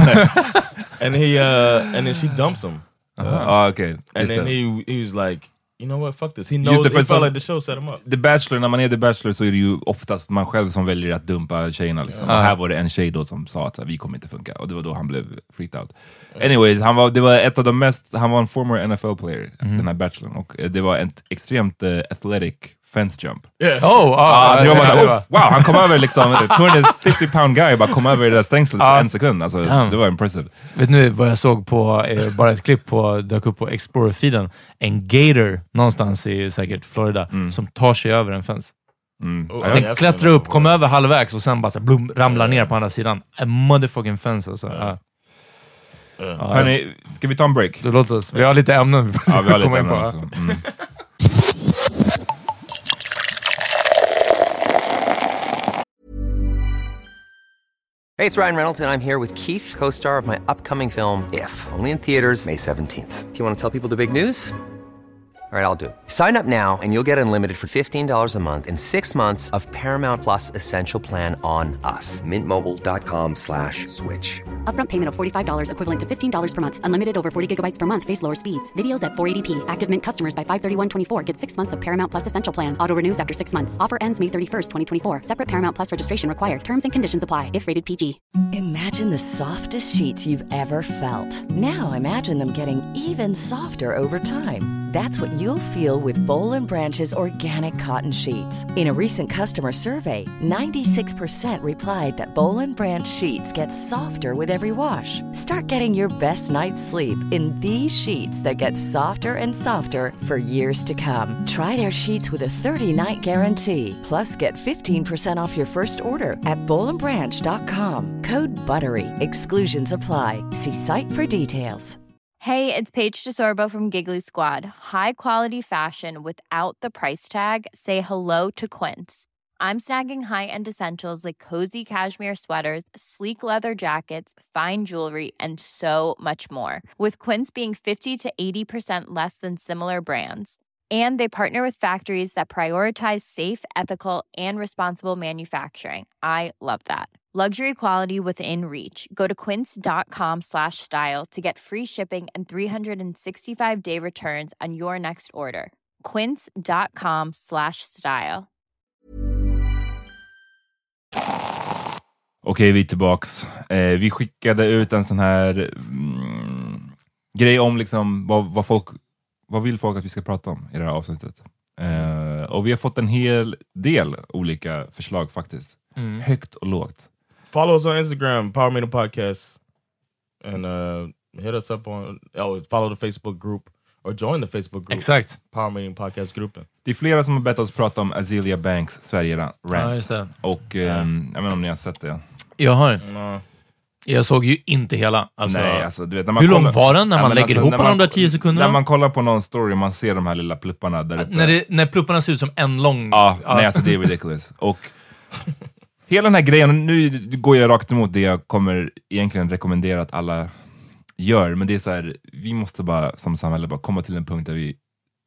and he uh, and then she dumps him. Uh, uh, okay. And then he he was like, you know what, fuck this. He knows, he felt like the show set him up. The Bachelor, när man är The Bachelor så är det ju oftast man själv som väljer att dumpa tjejerna liksom. Yeah. Och här var det en tjej då som sa att vi kommer inte funka. Och det var då han blev freaked out. Anyways, han var, det var ett av de mest, han var en former N F L player, mm. den här Bachelorn. Och det var ett extremt uh, athletic fence jump. Yeah. Oh, oh, ah, uh, uh, uh, uh, wow, han kom över liksom, tvåhundrafemtio pound guy bara kom över det där stängslet på uh, en sekund. Alltså, det var impressive. Vet ni vad jag såg på, eh, bara ett klipp på, dök upp på Explorer-feeden. En gator någonstans i säkert Florida mm. som tar sig över en fence. Mm. Oh, Den yeah, klättrar upp, kommer över halvvägs och sen bara så blum, ramlar ner på andra sidan. A motherfucking fence alltså. Yeah. Ja. Yeah. Ja, Hörni, ska vi ta en break? det låter oss. Vi har lite ämnen vi Ja, vi har lite komma in på. ämnen också. Mm. Hey, it's Ryan Reynolds, and I'm here with Keith, co-star of my upcoming film, If, only in theaters May seventeenth. Do you want to tell people the big news? All right, I'll do it. Sign up now and you'll get unlimited for fifteen dollars a month and six months of Paramount Plus Essential Plan on us. Mint Mobile dot com slash switch. Upfront payment of forty-five dollars equivalent to fifteen dollars per month. Unlimited over forty gigabytes per month. Face lower speeds. Videos at four eighty p. Active Mint customers by five thirty-one twenty-four get six months of Paramount Plus Essential Plan. Auto renews after six months. Offer ends May thirty-first, twenty twenty-four. Separate Paramount Plus registration required. Terms and conditions apply if rated P G. Imagine the softest sheets you've ever felt. Now imagine them getting even softer over time. That's what you'll feel with Boll and Branch's organic cotton sheets. In a recent customer survey, ninety-six percent replied that Boll and Branch sheets get softer with every wash. Start getting your best night's sleep in these sheets that get softer and softer for years to come. Try their sheets with a thirty-night guarantee. Plus, get fifteen percent off your first order at boll and branch dot com. Code BUTTERY. Exclusions apply. See site for details. Hey, it's Paige DeSorbo from Giggly Squad. High quality fashion without the price tag. Say hello to Quince. I'm snagging high-end essentials like cozy cashmere sweaters, sleek leather jackets, fine jewelry, and so much more. With Quince being fifty to eighty percent less than similar brands. And they partner with factories that prioritize safe, ethical, and responsible manufacturing. I love that. Luxury quality within reach. Go to quince.com slash style to get free shipping and three sixty-five day returns on your next order. Quince.com slash style. Okej, vi är tillbaks. Eh, vi skickade ut en sån här mm, grej om liksom vad, vad folk, vad vill folk att vi ska prata om i det här avsnittet. Eh, och vi har fått en hel del olika förslag faktiskt. Mm. Högt och lågt. Follow us on Instagram, Power Meeting Podcast, and uh, hit us up on. Oh, follow the Facebook group or join the Facebook group. Exakt. Power Meeting Podcast-gruppen. Det är flera som har bett oss prata om Azealia Banks Sverige-rant. Ja, just det. Och um, jag vet inte om ni har sett det. Jag har. No. Jag såg ju inte hela. Alltså, Nej, alltså, du vet, när man hur kollar, lång var den när man ja, lägger alltså, ihop man, alla de där tio sekunderna? När man kollar på någon story och man ser de här lilla plupparna där uppe. När, det, när plupparna ser ut som en lång... Ja, ja. Nej, alltså det är ridiculous. Och hela den här grejen, nu går jag rakt emot det jag kommer egentligen rekommendera att alla gör, men det är så här, vi måste bara som samhälle bara komma till en punkt där vi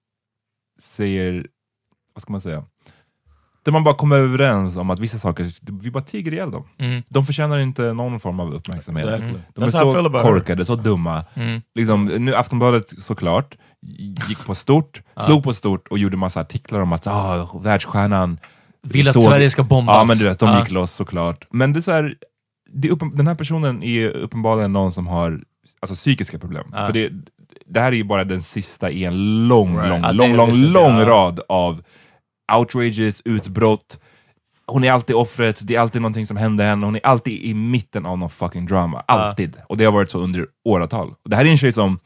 säger, vad ska man säga, där man bara kommer överens om att vissa saker, vi bara tiger ihjäl dem. Mm. De förtjänar inte någon form av uppmärksamhet. Exactly. De är så korkade, så dumma. Mm. Liksom, nu Aftonbladet såklart gick på stort, slog på stort och gjorde massa artiklar om att ah, världsstjärnan vill att såg, Sverige ska bombas. Ja, men du vet, de ja. gick loss såklart. Men det är så här, det är uppen, den här personen är uppenbarligen någon som har alltså, psykiska problem. Ja. För det, det här är ju bara den sista i en lång, right. lång, ja, lång, lång, lång ja. rad av outrages, utbrott. Hon är alltid offret, det är alltid någonting som händer henne. Hon är alltid i mitten av någon fucking drama. Alltid. Ja. Och det har varit så under åratal. Och det här är en tjej som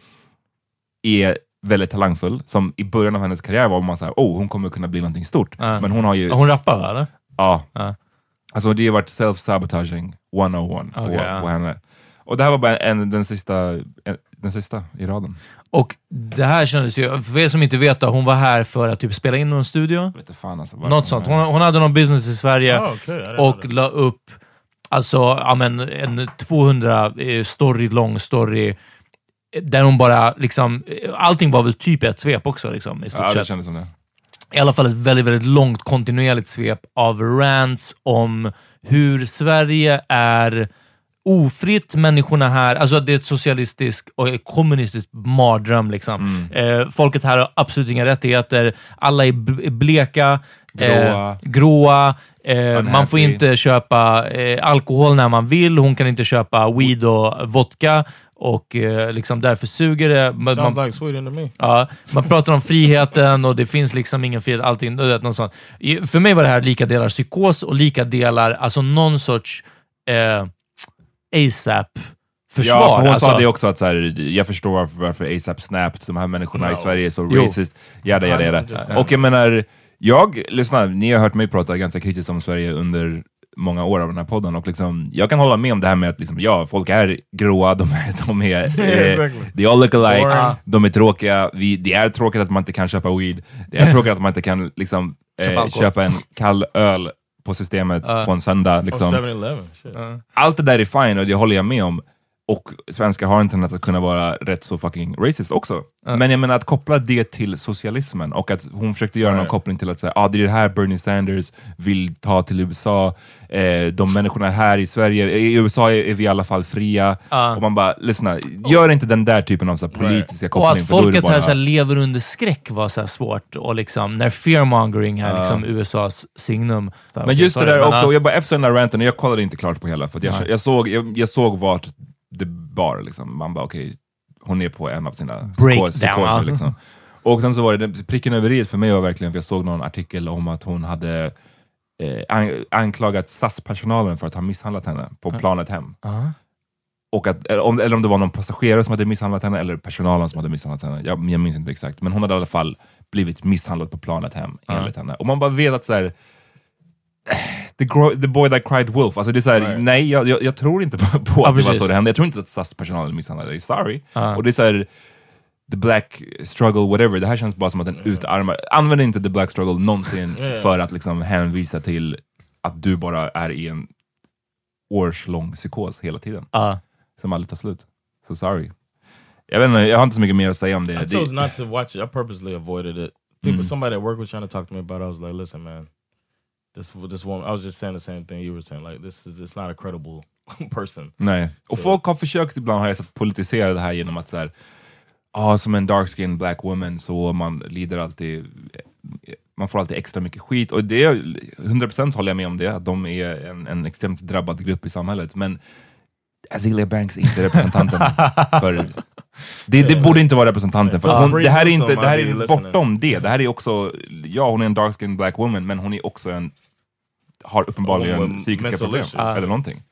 är väldigt talangfull, som i början av hennes karriär var man så här, oh, hon kommer kunna bli någonting stort. Uh. Men hon har ju... Hon rappar, eller? Ja. Uh. Alltså det har varit self-sabotaging one oh one okay, på, uh. på henne. Och det här var bara en, den, sista, en, den sista i raden. Och det här kändes ju, för er som inte vet, hon var här för att typ spela in någon studio. Vet fan, alltså, något sånt. Hon, hon hade någon business i Sverige oh, okay. och la upp alltså, ja, men, en tvåhundra story, lång story där hon bara liksom, allting var väl typ ett svep också liksom, i stort ja, sett. Det kändes som det. I alla fall ett väldigt, väldigt långt kontinuerligt svep av rants om hur Sverige är ofritt, människorna här, alltså det är ett socialistiskt och ett kommunistiskt mardröm liksom. Mm. Eh, folket här har absolut inga rättigheter, alla är bleka, gråa, eh, gråa eh, man får inte köpa eh, alkohol när man vill, hon kan inte köpa weed och vodka och eh, liksom därför suger det. Man, Sounds man, like Sweden to me. Ja, man pratar om friheten och det finns liksom ingen frihet, allting, något sånt. För mig var det här lika delar psykos och lika delar, alltså någon sorts eh, ASAP-försvar. Ja, för hon alltså, sa det också att så här, jag förstår varför, varför ASAP snapped, de här människorna no. i Sverige är så jo. racist. Jada, jada, jada. Och jag menar, Jag, lyssna, ni har hört mig prata ganska kritiskt om Sverige under många år av den här podden och liksom, jag kan hålla med om det här med att liksom, ja, folk är gråa, de är, de är eh, exactly. They all look alike, uh. de är tråkiga, vi, det är tråkigt att man inte kan köpa weed, det är tråkigt att man inte kan liksom, eh, köpa en kall öl på systemet uh. på en söndag liksom. uh. Allt det där är fine och det håller jag med om. Och svenskar har internet att kunna vara rätt så fucking racist också. Uh. Men jag menar att koppla det till socialismen och att hon försökte göra right. någon koppling till att säga, ah, det är det här Bernie Sanders vill ta till U S A. Eh, de människorna här i Sverige, i U S A är, är vi i alla fall fria. Uh. Och man bara, lyssna, gör inte den där typen av så här, politiska right. koppling. Och att folket bara... här så här, lever under skräck var så här svårt. Och liksom, när fearmongering här, uh. liksom U S A's signum. Men okay, just sorry, det där också, och jag bara efter den där ranten, och jag kollade inte klart på hela, för att jag, jag, såg, jag, jag såg vart det bar liksom. Man bara okej, okay, hon är på en av sina psykoser liksom. Och sen så var det pricken över i för mig var verkligen, för jag såg någon artikel om att hon hade eh, an- anklagat S A S-personalen för att ha misshandlat henne på planet hem. Uh-huh. Och att, eller om, eller om det var någon passagerare som hade misshandlat henne eller personalen som hade misshandlat henne. Jag, jag minns inte exakt, men hon hade i alla fall blivit misshandlad på planet hem uh-huh. enligt henne. Och man bara vet att så här, The, gro- the boy that cried wolf. Alltså det är såhär, right. nej, jag, jag, jag tror inte på, på ja, att det var så det hände. Jag tror inte att S A S-personalen misshandlade dig. Sorry. Uh. Och det är såhär, the black struggle, whatever. Det här känns bara som att den mm. utarmar. Använd inte the black struggle någonsin yeah. för att liksom hänvisa till att du bara är i en årslång psykos hela tiden. Uh. Som aldrig tar slut. So sorry. Jag vet inte, jag har inte så mycket mer att säga om det. I chose not to watch it. I purposely avoided it. People, mm. Somebody at work was trying to talk to me about it. I was like, listen man, This this woman, I was just saying the same thing you were saying. Like this is it's not a credible person. Nej. Och so. Folk har försökt ibland, har jag sett, politisera det här genom att så här, ah, som en dark skin black woman så man lider alltid, man får alltid extra mycket skit. Och det är hundra procent håller jag med om det. Att de är en, en extremt drabbad grupp i samhället. Men Azealia Banks är inte representanten för... Det, det borde inte vara representanten för att hon, det här är inte, det här är bortom det. Det här är också, ja hon är en dark skin black woman, men hon är också en, har uppenbarligen oh, psykiska problem uh. eller någonting.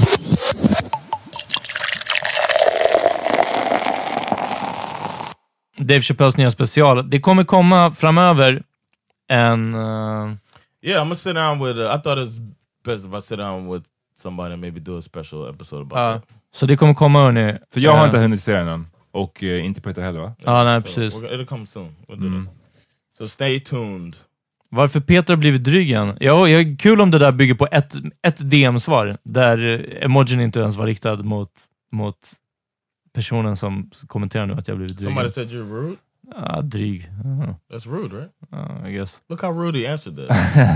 Dave Chappelles nya special. Det kommer komma framöver en uh... yeah, I'm gonna sit down with uh, I thought it's best if I sit down with somebody and maybe do a special episode about uh. that. Så det kommer komma hörni. För jag har uh. inte hunnit se den än. Och uh, inte Peter heller va? Ja, ah, nej precis. So, it'll come soon. We'll do mm. So stay tuned. Varför Peter har blivit dryg igen? Ja, jag är kul om det där bygger på ett, ett D M-svar. Där emojin inte ens var riktad mot, mot personen som kommenterar nu att jag blivit dryg. Somebody said you're rude? Ja, ah, dryg. Uh-huh. That's rude, right? Uh, I guess. Look how rude he answered that.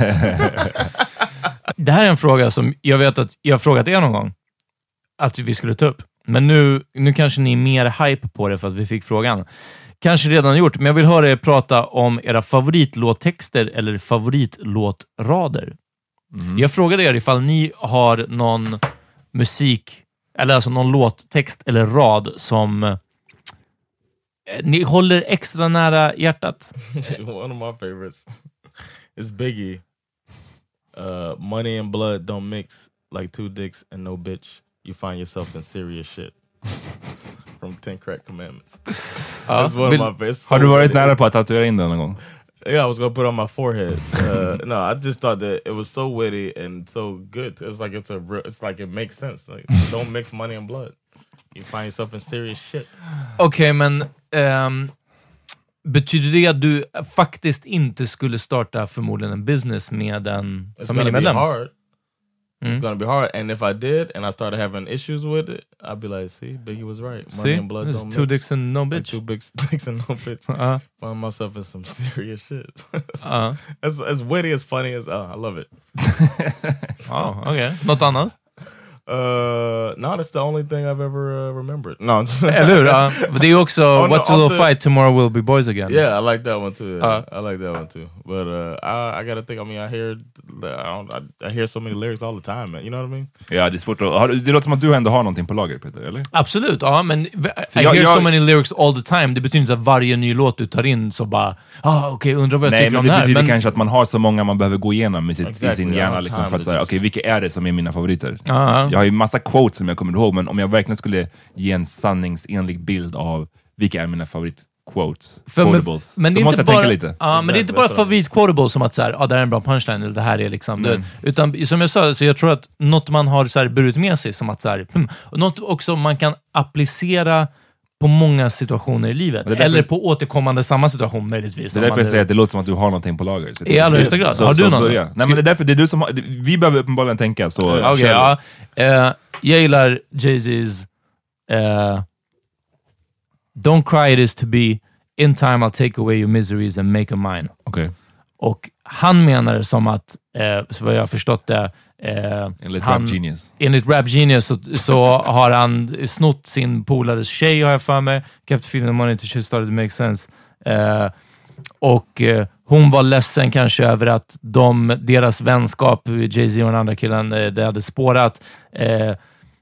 Det här är en fråga som jag vet att jag har frågat er någon gång. Att vi skulle ta upp. Men nu, nu kanske ni är mer hype på det för att vi fick frågan. Kanske redan gjort, men jag vill höra er prata om era favoritlåttexter eller favoritlåtrader. Mm. Jag frågade er ifall ni har någon musik, eller alltså någon låttext eller rad som eh, ni håller extra nära hjärtat. One of my favorites is Biggie. Uh, money and blood don't mix like two dicks and no bitch. You find yourself in serious shit. From Ten Crack Commandments. That's one Vill, of my best. Har du varit nära på att tatuera in den någon gång? Yeah, I was gonna put it on my forehead. Uh, no, I just thought that it was so witty and so good. It's like it's a, real, it's like it makes sense. Like, don't mix money and blood. You find yourself in serious shit. Okej, okay, men um, betyder det att du faktiskt inte skulle starta förmodligen en business med en familjemedlem? It's gonna be hard. Mm. It's gonna be hard, and if I did, and I started having issues with it, I'd be like, "See, Biggie was right. Money See? and blood There's don't two mix. dicks and no bitch. Like two big dicks and no bitch." Uh-huh. Find myself in some serious shit. uh-huh. as as witty, as funny as uh, I love it. Oh, okay. Något annat? Uh, no, that's the only thing I've ever uh, remembered. No, eller hur? Uh, det är också oh, no, What's a little the... fight, tomorrow will be boys again. Yeah, I like that one too. Yeah. Uh, I like that one too. But uh, I, I gotta think. I mean, I hear, I, don't, I, I hear so many lyrics all the time, man. You know what I mean? Ja, det är svårt att, det låter som att du ändå har någonting på lager, Peter, eller? Absolut, ja, men I jag, hear jag... so many lyrics all the time. Det betyder inte att varje ny låt du tar in så bara, ah, okej, okay, undrar vad jag Nej, tycker om det det här. Nej, men det betyder men... kanske att man har så många man behöver gå igenom med sitt, exactly, i sin hjärna liksom, för att säga, okej, okay, vilka är det som är mina favoriter? Uh-huh. Jag har ju massa quotes som jag kommer ihåg, men om jag verkligen skulle ge en sanningsenlig bild av vilka är mina favorit quote För quotables. Men, men det Då är måste inte jag bara, tänka lite. Ja, men det är inte bara favorit-quotables som att så här, ah, det här är en bra punchline eller det här är liksom mm. det, utan som jag sa, så jag tror att något man har så här burit med sig som att så här, hmm, och något också man kan applicera på många situationer i livet. Därför, eller på återkommande samma situation möjligtvis. Det är därför jag säger att det låter som att du har någonting på lager. Så i allra högsta grad. Så, har du så någon? Nej, men det är därför det är du som har, vi behöver uppenbarligen tänka. Så Okej, okay, ja. Uh, jag gillar Jay-Z's uh, Don't cry, it is to be. In time I'll take away your miseries and make a mine. Okay. Och han menar det som att, eh, så vad jag har förstått det, eh, enligt han, Rap Genius. Enligt Rap Genius så, så har han snott sin polares tjej, har jag för mig. Kept feeling money till she started to make sense. Eh, och eh, hon var ledsen kanske över att de, deras vänskap, Jay-Z och den andra killen, eh, det hade spårat. Eh,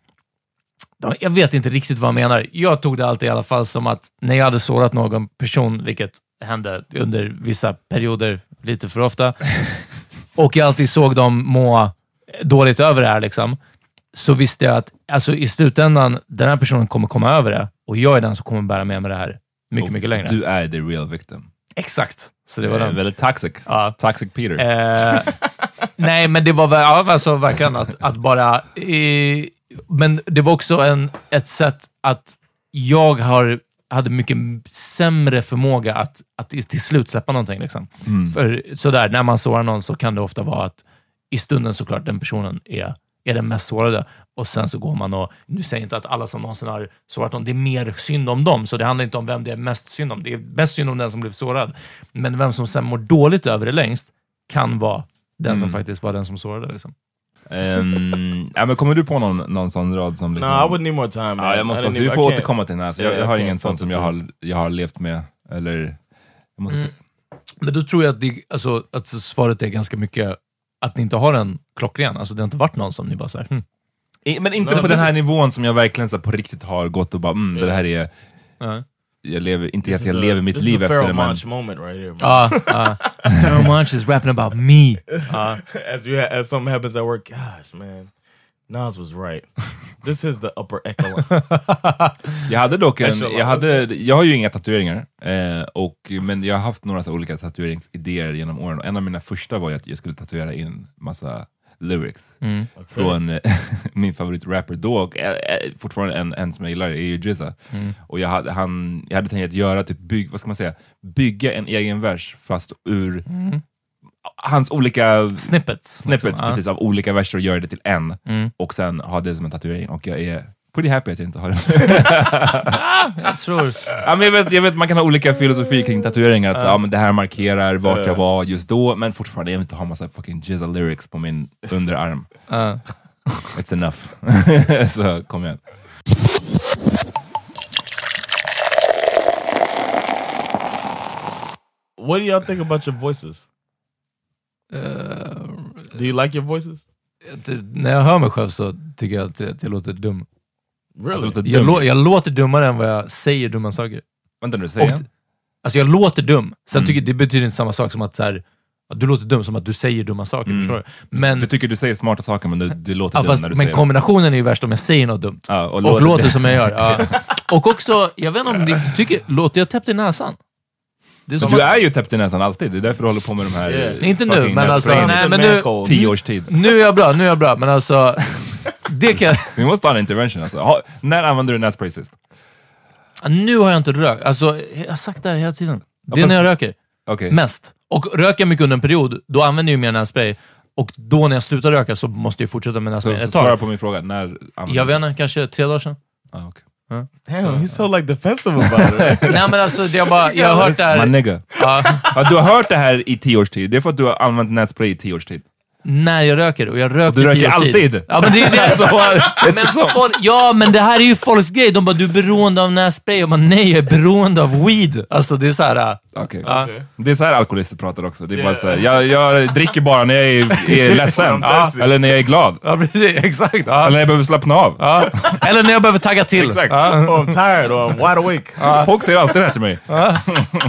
Jag vet inte riktigt vad jag menar. Jag tog det alltid i alla fall som att när jag hade sårat någon person, vilket hände under vissa perioder lite för ofta, och jag alltid såg dem må dåligt över det här, liksom, så visste jag att alltså, i slutändan, den här personen kommer komma över det, och jag är den som kommer bära med mig det här mycket, och mycket längre. Du är the real victim. Exakt. Så det var eh, den. Väldigt toxic. Ja. Toxic Peter. Eh, nej, men det var väl, ja, alltså, verkligen att, att bara... I, Men det var också en, ett sätt att jag har, hade mycket sämre förmåga att, att till slut släppa någonting. Liksom. Mm. För sådär, när man sårar någon så kan det ofta vara att i stunden såklart den personen är, är den mest sårade. Och sen så går man och, nu säger jag inte att alla som någonsin har sårat någon, det är mer synd om dem. Så det handlar inte om vem det är mest synd om. Det är mest synd om den som blev sårad. Men vem som sen mår dåligt över det längst kan vara den mm. som faktiskt var den som sårade. Liksom. Um, ja, men kommer du på någon, någon sån rad som liksom... No, I would need more time, man. Ja, jag måste, vi får återkomma till den här. Så jag, jag har ingen sån som jag har, jag har levt med. Eller... Jag måste mm. Men då tror jag att, det, alltså, att svaret är ganska mycket att ni inte har en klockren. Alltså det har inte varit någon som ni bara så här, hmm. I, men inte no, på den här nivån som jag verkligen så på riktigt har gått och bara, mm, yeah. det här är... Uh-huh. Jag lever, inte att jag a, lever mitt liv efter det, men... This is a moment right here. Ja, Pharoah Monch is rapping about me. Uh. As, you ha- as something happens at work, gosh, man. Nas was right. This is the upper echelon. Jag hade dock en... Jag, hade, jag har ju inga tatueringar, eh, och, men jag har haft några så olika tatueringsidéer genom åren. En av mina första var ju att jag skulle tatuera in massa lyrics mm. från okay. min favoritrapper då, och äh, fortfarande en, en som jag gillar är ju Jizza. Mm. Och jag hade, han, jag hade tänkt att göra typ bygg, vad ska man säga, bygga en egen vers fast ur mm. hans olika snippets, snippets liksom, precis, ja. av olika verser och göra det till en mm. och sen ha det som en tatuering, och jag är pretty happy att jag inte har det. ah, jag tror ja, men jag, vet, jag vet man kan ha olika filosofi kring tatueringar, att uh. ja, men det här markerar vart uh. jag var just då, men fortfarande jag vill inte ha massa fucking Jizza lyrics på min underarm. Uh. It's enough. Så kom igen. What do y'all think about your voices? Uh, do you like your voices? Det, när jag hör mig själv så tycker jag att jag, att jag låter dum. Really? Låter jag, lå, jag låter dummare än vad jag säger dumma saker. Vänta nu, säger jag? Alltså jag låter dum. Sen mm. tycker det betyder inte samma sak som att så här, att du låter dum som att du säger dumma saker, mm. förstår du? Men, du tycker du säger smarta saker, men du, du låter ja, dum fast, när du men säger kombinationen är ju värst om jag säger något dumt. Ja, och, och låter, låter som jag gör. Ja. Och också, jag vet inte om ni tycker, låter jag täppt i näsan? Det är så du att, är ju täppt i näsan alltid. Det är därför du håller på med de här... Yeah. Inte nu, men alltså... Nej, men nu, tio års tid. Nu är jag bra, nu är jag bra. Men alltså... det kan... Vi måste ha en intervention. Alltså. Ha, när använder du nässpray sist? Nu har jag inte rökt. Alltså, jag har sagt det här hela tiden. Det är när jag röker. Okay. Mest. Och röker jag mycket under en period, då använder jag mer nässpray. Och då när jag slutar röka så måste jag fortsätta med nässpray. Så, så svara på min fråga. När jag vet inte, kanske tre dagar sedan. Ah, okay. Huh? Damn, he's so like defensive about it. Nej, men alltså, det jag, bara, jag har hört det här... My nigga. Ja. Ja, du har hört det här i tio års tid. Det är för att du har använt nässpray i tio års tid. När jag röker, och jag röker du röker alltid. Ja, men det är det. Så, men folk, ja, men det här är ju folks grej. De bara, du är beroende av nässpray. Och man, nej, jag är beroende av weed. Alltså, det är så här... Okay. Ja. Okay. Det är så här alkoholister pratar också. Det är yeah. bara så här, jag, jag dricker bara när jag är, är ledsen. Ja. Eller när jag är glad. Ja, precis. Exakt. Ja. Eller när jag behöver slappna av. Ja. Eller när jag behöver tagga till. Exakt. Ja. Oh, I'm tired or I'm wide awake. Ja. Folk säger alltid det här till mig. Ja,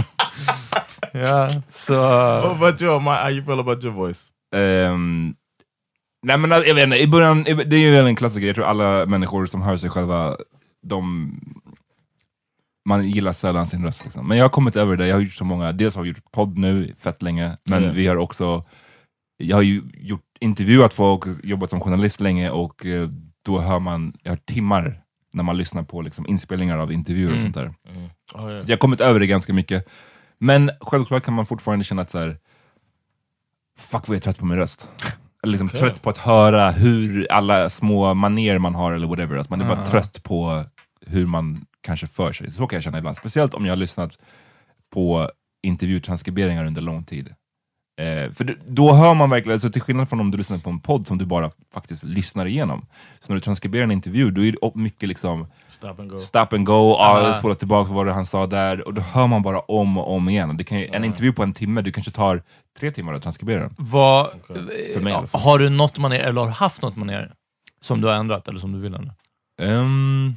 ja så... What about you? How you feel about your voice? Um, nej, men jag vet inte, i början, det är ju en klassiker. Jag tror alla människor som hör sig själva, de man gillar sällan sin röst liksom. Men jag har kommit över det, jag har gjort så många, dels har jag gjort podd nu, fett länge, men mm. vi har också, jag har ju gjort intervjuat folk, jobbat som journalist länge och eh, då hör man, jag har timmar när man lyssnar på liksom, inspelningar av intervjuer mm. och sånt där. Mm. Oh, yeah. Jag har kommit över det ganska mycket. Men självklart kan man fortfarande känna att så här, fuck vad jag är trött på min röst. Eller liksom okay. trött på att höra hur alla små manér man har eller whatever. Att man är bara uh-huh. trött på hur man kanske för sig. Så kan jag känna ibland. Speciellt om jag har lyssnat på intervjutranskriberingar under lång tid. Eh, för då hör man verkligen, alltså till skillnad från om du lyssnar på en podd som du bara faktiskt lyssnar igenom. Så när du transkriberar en intervju, då är det mycket liksom stop and go, stop and go ah, spola tillbaka vad det han sa där. Och då hör man bara om och om igen. Det kan, en mm. intervju på en timme, du kanske tar tre timmar att transkribera den. Vad, okay. För mig, ja, har du något man är, eller har haft något man är som du har ändrat eller som du vill ändra? Um,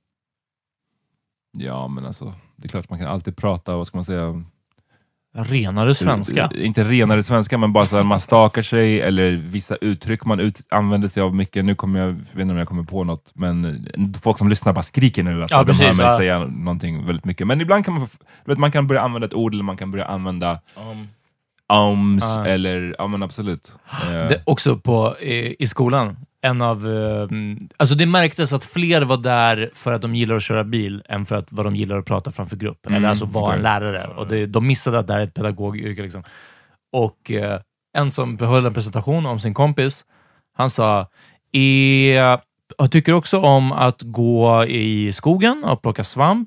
ja, men alltså det är klart man kan alltid prata, vad ska man säga, renare svenska. Inte renare svenska, men bara så att man stakar sig eller vissa uttryck man ut, använder sig av mycket. Nu kommer jag, jag vet inte om jag kommer på något, men folk som lyssnar bara skriker nu att ja, de precis, hör mig ja. säga någonting väldigt mycket. Men ibland kan man, vet, man kan börja använda ett ord eller man kan börja använda um, ums uh. eller, ja men absolut. Det, också på, i, i skolan, en av, um, alltså det märktes att fler var där för att de gillar att köra bil än för att vad de gillar att prata framför grupp. Mm, eller alltså vara okay. en lärare. Och det, de missade att det är ett pedagogyrke liksom. Och uh, en som höll en presentation om sin kompis, han sa, jag tycker också om att gå i skogen och plocka svamp.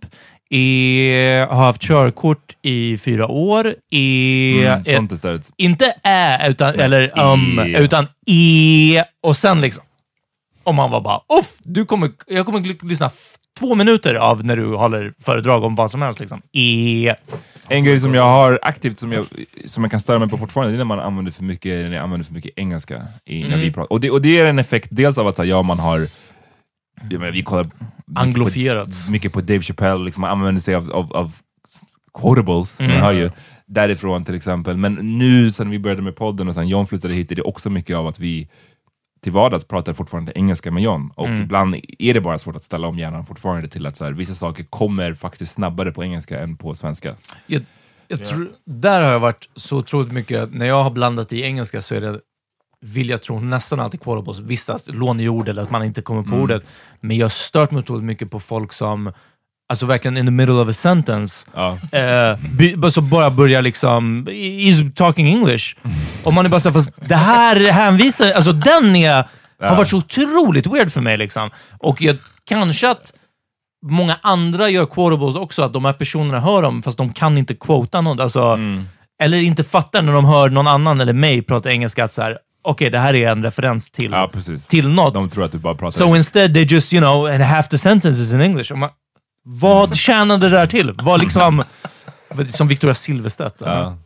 Jag har haft körkort i fyra år. I, mm, sånt istället. Inte ä, utan, eller um, I. utan i. Och sen liksom, om man var bara, uff, du kommer, jag kommer lyssna f- två minuter av när du håller föredrag om vad som helst liksom. I. En grej som jag har aktivt som jag, som jag kan störa mig på fortfarande, det är när man använder för mycket, när jag använder för mycket engelska i, när mm. vi pratar. Och det, och det är en effekt dels av att ja, man har, ja, men vi kollar anglofierat mycket på, mycket på Dave Chappelle, liksom, man använder sig av, av, av quotables, mm. man hör ju därifrån till exempel. Men nu sen vi började med podden och sen John flyttade hit, är det också mycket av att vi till vardags pratar fortfarande engelska med John. Och mm. ibland är det bara svårt att ställa om hjärnan fortfarande till att så här, vissa saker kommer faktiskt snabbare på engelska än på svenska. Jag, jag yeah. tror, där har jag varit så otroligt mycket, när jag har blandat i engelska så är det, vill jag tro, nästan alltid quotables, vissa låneord eller att man inte kommer på mm. ordet. Men jag har stört mig otroligt mycket på folk som, alltså verkligen in the middle of a sentence ja. eh, by, så bara börjar liksom is talking English och man är bara så, fast det här hänvisar, alltså den är, ja. har varit så otroligt weird för mig liksom. Och jag, kanske att många andra gör quotables också, att de här personerna hör dem fast de kan inte quota något, alltså, mm. eller inte fattar när de hör någon annan eller mig prata engelska att så här, okej, okay, det här är en referens till, ja, till något. De tror att du bara pratar. So instead they just, you know, and half the sentence is in English. Man, vad tjänade det där till? Vad liksom, som Victoria Silvstedt. Ja.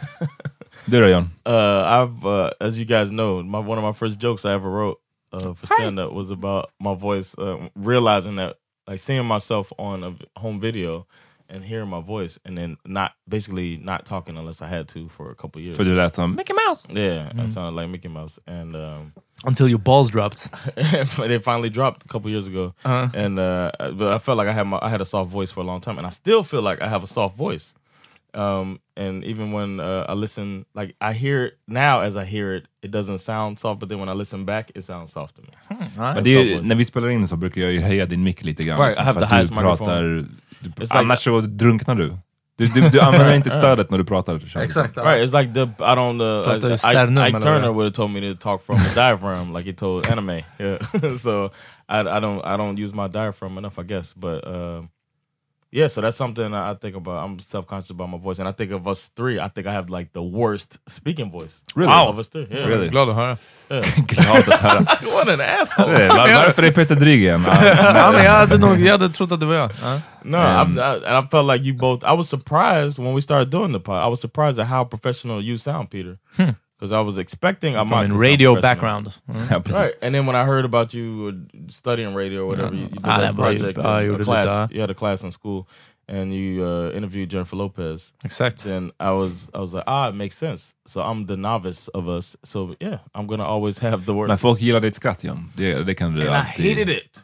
Du då, John? Uh, I've, uh, as you guys know, my, one of my first jokes I ever wrote uh, for stand-up was about my voice, uh, realizing that, like seeing myself on a home video and hearing my voice and then not, basically not talking unless I had to for a couple years. För du lät som Mickey Mouse. Yeah, mm. I sounded like Mickey Mouse. And um, until your balls dropped. They finally dropped a couple years ago. Uh-huh. And uh, but I felt like I had my, I had a soft voice for a long time, and I still feel like I have a soft voice. Um, and even when uh, I listen, like I hear it now as I hear it, it doesn't sound soft, but then when I listen back, it sounds soft to me. Hmm, nice. Men det är, när vi spelar in så brukar jag ju höja din mick lite grann. Right, I have the highest microphone. Du, annars så drunknar du. Du, du, du använder inte stödet när du pratar. Exakt. Right, it's like the, I don't, uh, I, Ike Turner would have told me to talk from the diaphragm like he told anime. Yeah. So I, I don't I don't use my diaphragm enough, I guess. But uh, yeah, so that's something I think about. I'm self-conscious about my voice. And I think of us three, I think I have like the worst speaking voice. Really? Wow. Of us three. Yeah. Really? Glad att höra. Glad att höra. What an asshole. Varför är Peter dryg igen? Ja, men jag hade nog, jag hade trott att det var jag. Uh. No, um, I, I, and I felt like you both, I was surprised when we started doing the pod. I was surprised at how professional you sound, Peter. Because hmm. I was expecting I'm from a radio background. Mm. Right. And then when I heard about you studying radio or whatever, yeah. you, you did ah, that project, uh, a class, you had a class in school, and you uh, interviewed Jennifer Lopez. Exactly. And I was, I was like, ah, it makes sense. So I'm the novice of us. So yeah, I'm gonna always have the word. Men folk gillar ditt skratt, John. Det, det kan du and alltid. I hated it.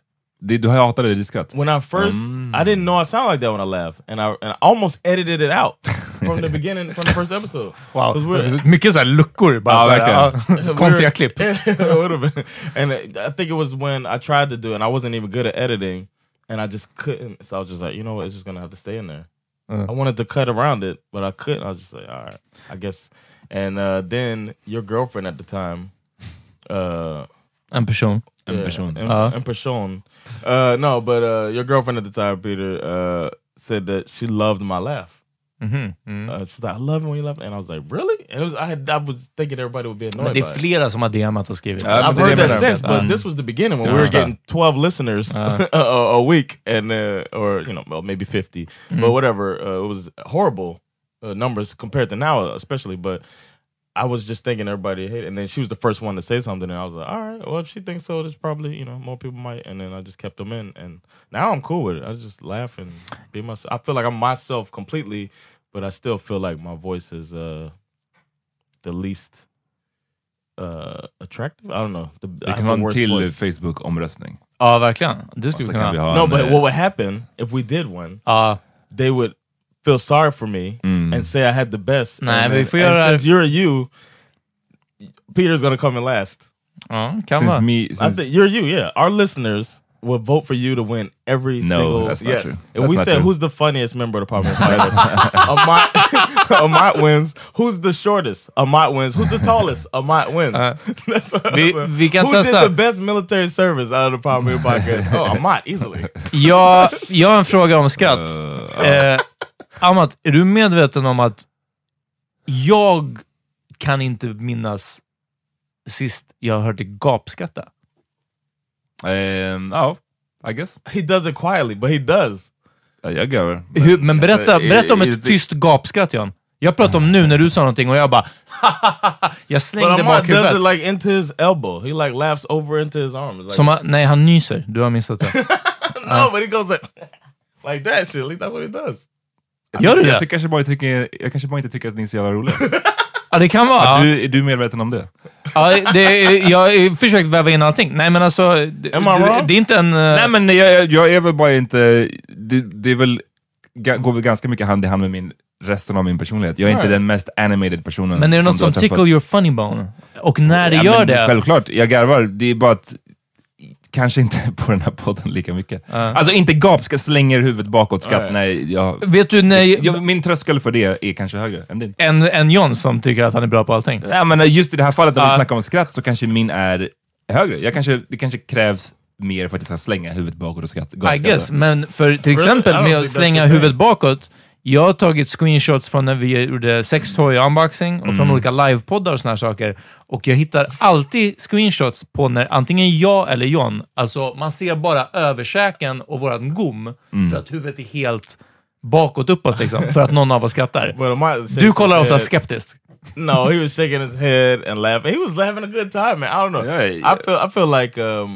det, du har hatat det, det skratt. When I first, mm. I didn't know I sound like that when I laugh. And I, and I almost edited it out from the beginning, from the first episode. Wow, mycket så här luckor. Bara ja, verkligen. Ja, konstiga klipp. And I think it was when I tried to do it, and I wasn't even good at editing. And I just couldn't. So I was just like, you know what, it's just going to have to stay in there. Uh. I wanted to cut around it, but I couldn't. I was just like, all right, I guess. And uh, then your girlfriend at the time... Uh, en person. Yeah, en person. En, uh. en person. Uh, no, but uh, your girlfriend at the time, Peter, uh, said that she loved my laugh. Mm-hmm. Mm. Uh, she was like, I love it when you laugh. And I was like, really? And it was, I, had, I was thinking everybody would be annoyed. Men det är flera som har D M'at och skrivit. Uh, I've heard that since, but um, this was the beginning when we were getting twelve listeners uh. a, a week, and uh, or you know, well, maybe fifty, mm. but whatever. Uh, it was horrible uh, numbers compared to now, especially. But I was just thinking everybody hated it. And then she was the first one to say something, and I was like, all right, well, if she thinks so, there's probably, you know, more people might. And then I just kept them in, and now I'm cool with it. I just laugh and be myself. I feel like I'm myself completely, but I still feel like my voice is uh, the least uh, attractive. I don't know. The, vi kan ha en till Facebook-omröstning. Ja, verkligen. Det skulle vi kunna ha. No, but what would happen if we did one? Uh, they would feel sorry for me mm. and say I had the best. Nej, and, men vi får and göra... since you're you, Peter's gonna come in last. Ja, kan vara. Me, since... I think you're you, yeah. Our listeners will vote for you to win every no, single... No, that's not yes. true. If that's we said, true. who's the funniest member of the Parliament Amat, Amat wins. Who's the shortest? Amat wins. Who's the tallest? Amat wins. Uh, vi, vi kan Who testa. did the best military service out of the Parliament podcast? Oh, Amat, easily. Ja, jag har en fråga om skratt. Uh, eh, Amat, är du medveten om att jag kan inte minnas sist jag hörde gapskratta? Um, oh, I guess. He does it quietly, but he does. Ja, jag gör det. Hur, men berätta, berätta om ett tyst gapskratt, Jan. Jag pratar om nu när du sa någonting och jag bara jag slängde bak huvudet. Does it like into his elbow. He like laughs over into his arm. Like, Som, nej, han nyser. Du har missat det. No, uh. but he goes like like that shit. That's what he does. Gör du det? Jag, kanske bara tycker, jag kanske bara inte tycker att ni är så jävla roliga. Ja, det kan vara. Ja, du, är du medveten om det? Ja, det, jag har försökt väva in allting. Nej, men alltså... Det, det är inte en... Uh... Nej, men jag, jag är väl bara inte... Det, det är väl, går väl ganska mycket hand i hand med min, resten av min personlighet. Jag är right. inte den mest animated personen. Men är det något som tickle your funny bone? Och när det ja, gör det... Självklart, jag garvar. Det är bara att... Kanske inte på den här podden lika mycket. Uh. Alltså inte gapska slänger huvudet bakåt skratt. Uh. Nej, jag, Vet du, nej, jag, min tröskel för det är kanske högre än din. En, en John som tycker att han är bra på allting. Ja, men just i det här fallet när uh. vi snackar om skratt så kanske min är högre. Jag kanske, det kanske krävs mer för att jag ska slänga huvudet bakåt och skratt. I guess, men för till exempel med att slänga huvudet bakåt. Jag har tagit screenshots från när vi gjorde sextoy unboxing och mm. från olika livepoddar och såna här saker. Och jag hittar alltid screenshots på när antingen jag eller John, alltså man ser bara översäken och våran gom mm. för att huvudet är helt bakåt uppåt liksom, för att någon av oss skrattar. Du kollar ofta skeptiskt. No, he was shaking his head and laughing. He was having a good time, man. I don't know. Yeah, yeah. I feel I feel like um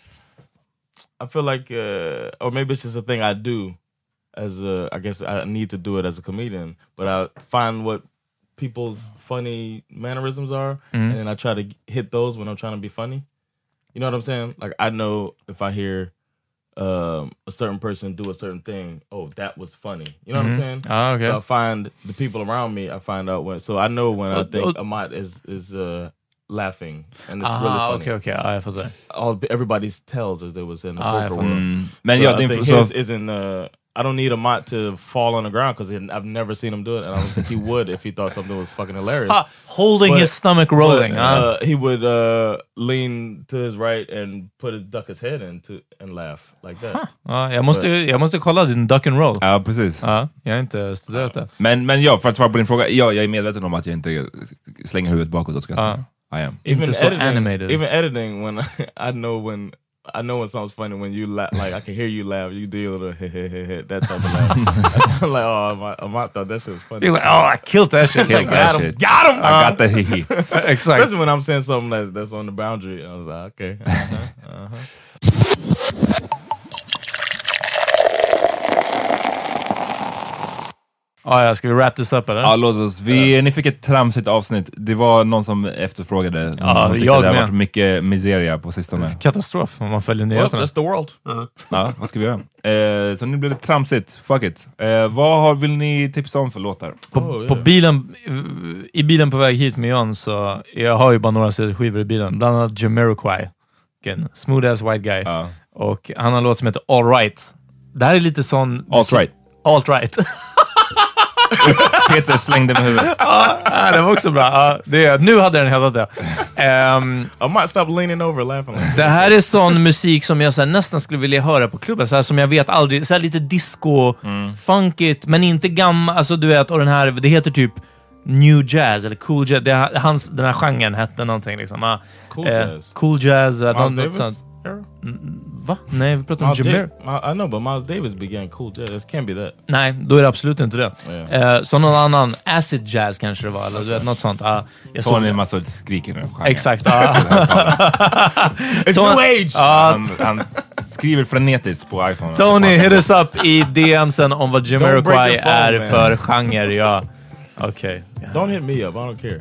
I feel like uh or maybe it's just a thing I do. As a, I guess I need to do it as a comedian, but I find what people's funny mannerisms are, mm. and then I try to hit those when I'm trying to be funny. You know what I'm saying? Like I know if I hear um, a certain person do a certain thing, oh, that was funny. You know mm-hmm. what I'm saying? Oh, okay. So I find the people around me. I find out when. So I know when uh, I think uh, Amat is is uh, laughing, and it's ah, really funny. Okay, okay, I fattar. All everybody's tells as they was in the ah, poker world. Mm. Men so jag I think his isn't. Uh, I don't need Amat to fall on the ground because I've never seen him do it, and I don't think he would if he thought something was fucking hilarious. Ha, holding but, his stomach rolling. But, huh? uh, he would uh, lean to his right and put his duck his head in to, and laugh like that. Huh. Ja, jag, måste, but, jag måste kolla din duck and roll. Ja, precis. Ja, jag har inte studerat det. Men, men ja, för att svara på din fråga, ja, jag är medveten om att jag inte slänger huvudet bakåt och skrattar. Uh, I am. Even inte så editing, animated. Even editing, when I, I know when I know when something's funny when you laugh, like I can hear you laugh, you do a little heh heh heh heh, that type of laugh. I'm like, oh, I might thought that shit was funny. You're like, oh, I killed that shit. Killed got that him, shit. got him. I uh, got the hee hee. Exactly. Especially when I'm saying something that's, that's on the boundary. I was like, okay. Uh-huh, uh-huh. Ja, ja, ska vi wrap this up eller? Ja, låt oss. Vi, ja. Ni fick ett tramsigt avsnitt. Det var någon som efterfrågade. Ja, tyckte jag det har med. varit mycket miseria på sistone. Katastrof om man följer nyheterna. Well, that's the world. Uh-huh. Ja, vad ska vi göra? Eh, så nu blir det tramsigt. Fuck it. Eh, vad har, vill ni tipsa om för låtar? På, oh, yeah. på bilen, i bilen på väg hit med Jan, så jag har ju bara några skivor i bilen. Bland annat Jamiroquai. Again, smooth ass white guy. Ja. Och han har en låt som heter All Right. Det här är lite sån... Alt right. Alt right. Peter slängde med huvudet. Ja, det var också bra. Ja, det, nu hade den hetat det. Um, I might stop leaning over laughing. Like det här är sån musik som jag så här, nästan skulle vilja höra på klubben. Så här, som jag vet aldrig. Så här, lite disco, mm. funkigt, men inte gammal. Alltså du vet, och den här, det heter typ new jazz eller cool jazz. Det, hans, den här genren hette någonting liksom. Uh, cool jazz. Uh, cool jazz. Uh, Miles något, Davis? Sånt. Va? Nej, vi pratar om Jamir. I know, but Miles Davis began cool jazz. It can't be that. Nej, då är det absolut inte det. Yeah. Uh, så någon annan acid jazz kanske det var, eller du vet, något sånt. Uh, jag Tony en massa skriker nu. Exakt. Uh. It's Tony, new age! Uh, han, han skriver frenetiskt på iPhone. Tony, hit us up i D Msen om vad Jamiroquai är man. För genre. Ja. Okej. Okay. Yeah. Don't hit me up, I don't care.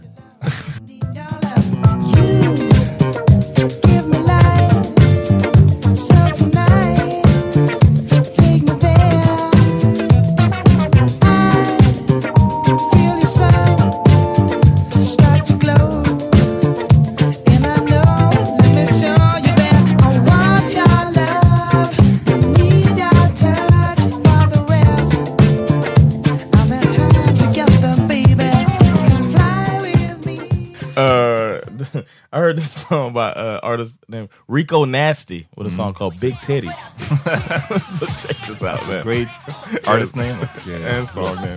I heard this song by uh, artist named Rico Nasty with a mm. song called Big Titties. So check this out, man. Great artist name yeah, and song name.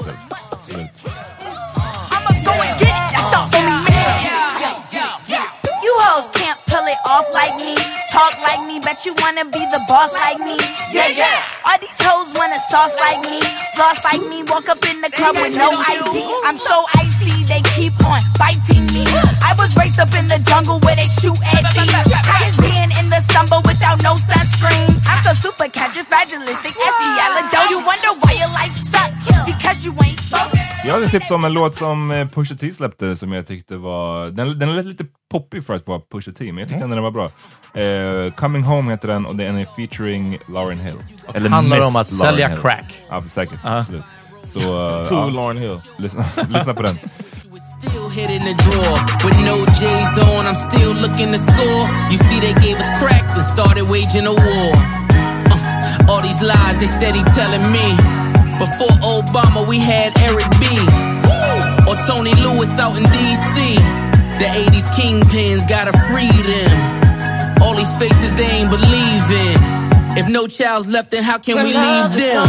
I'ma go and get it. That's the only mission. You hoes can't pull it off like me. Talk like me, bet you wanna be the boss like me. Yeah, yeah. All these hoes wanna sauce like me, floss like me, walk up in the club with no I D. I'm so icy, they keep on biting me. I was raised up in the jungle where they shoot at me. I is being in the stumble without no sunscreen. I'm so super califragilistic, espialidocious. You wonder why your life sucks, because you ain't focused. Jag hade tips om en låt som Pusha T släppte som jag tyckte var... Den, den är lite poppig för att vara Pusha T, men jag tyckte mm. den var bra. Uh, Coming Home heter den och den är featuring Lauryn Hill. Och eller handlar Miss om att Lauren sälja Hill. Crack. Ja, säkert. Uh-huh. Så, uh, to ja. Lauryn Hill. Lyssna, lyssna på den. Still hit in the drawer with no J's on. I'm still looking to score. You see, they gave us crack and started waging a war. Uh, all these lies they steady telling me. Before Obama, we had Eric B. Woo! Or Tony Lewis out in D C. The eighties kingpins gotta free them. All these faces they ain't believe in. If no child's left, then how can when we leave them?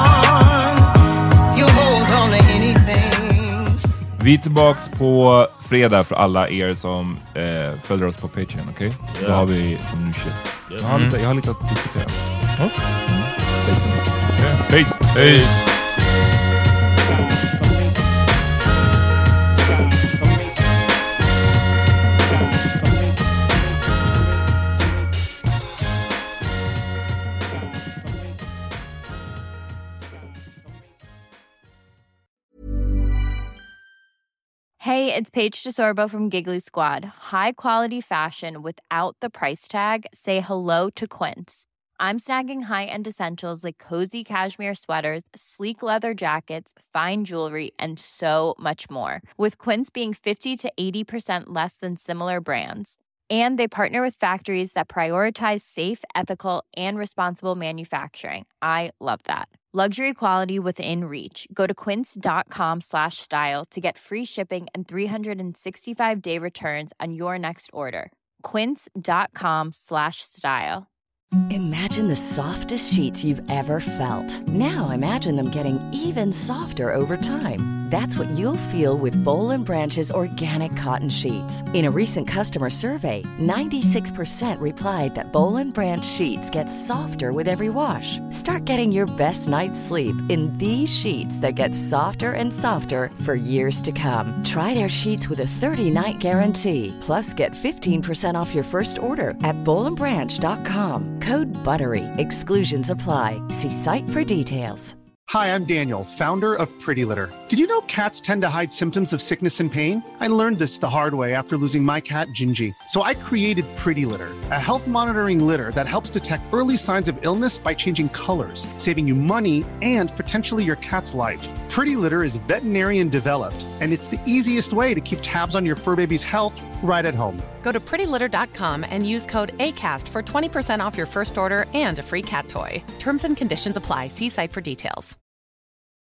You hold on to anything. Vi är tillbaks på fredag för alla er som eh, följer oss på Patreon, okej? Okay? Yeah. Då har vi som ny shit. Yeah. Jag, har lite, jag har lite att diskutera. Mm. Okay. Peace! Peace! Hey, it's Paige DeSorbo from Giggly Squad. High quality fashion without the price tag. Say hello to Quince. I'm snagging high-end essentials like cozy cashmere sweaters, sleek leather jackets, fine jewelry, and so much more. With Quince being fifty to eighty percent less than similar brands. And they partner with factories that prioritize safe, ethical, and responsible manufacturing. I love that. Luxury quality within reach. Go to quince.com slash style to get free shipping and three sixty-five day returns on your next order. Quince.com slash style. Imagine the softest sheets you've ever felt. Now imagine them getting even softer over time. That's what you'll feel with Boll and Branch's organic cotton sheets. In a recent customer survey, ninety-six percent replied that Boll and Branch sheets get softer with every wash. Start getting your best night's sleep in these sheets that get softer and softer for years to come. Try their sheets with a thirty-night guarantee. Plus, get fifteen percent off your first order at boll and branch dot com. Code BUTTERY. Exclusions apply. See site for details. Hi, I'm Daniel, founder of Pretty Litter. Did you know cats tend to hide symptoms of sickness and pain? I learned this the hard way after losing my cat, Gingy. So I created Pretty Litter, a health monitoring litter that helps detect early signs of illness by changing colors, saving you money and potentially your cat's life. Pretty Litter is veterinarian developed, and it's the easiest way to keep tabs on your fur baby's health right at home. Go to pretty litter dot com and use code ACAST for twenty percent off your first order and a free cat toy. Terms and conditions apply. See site for details.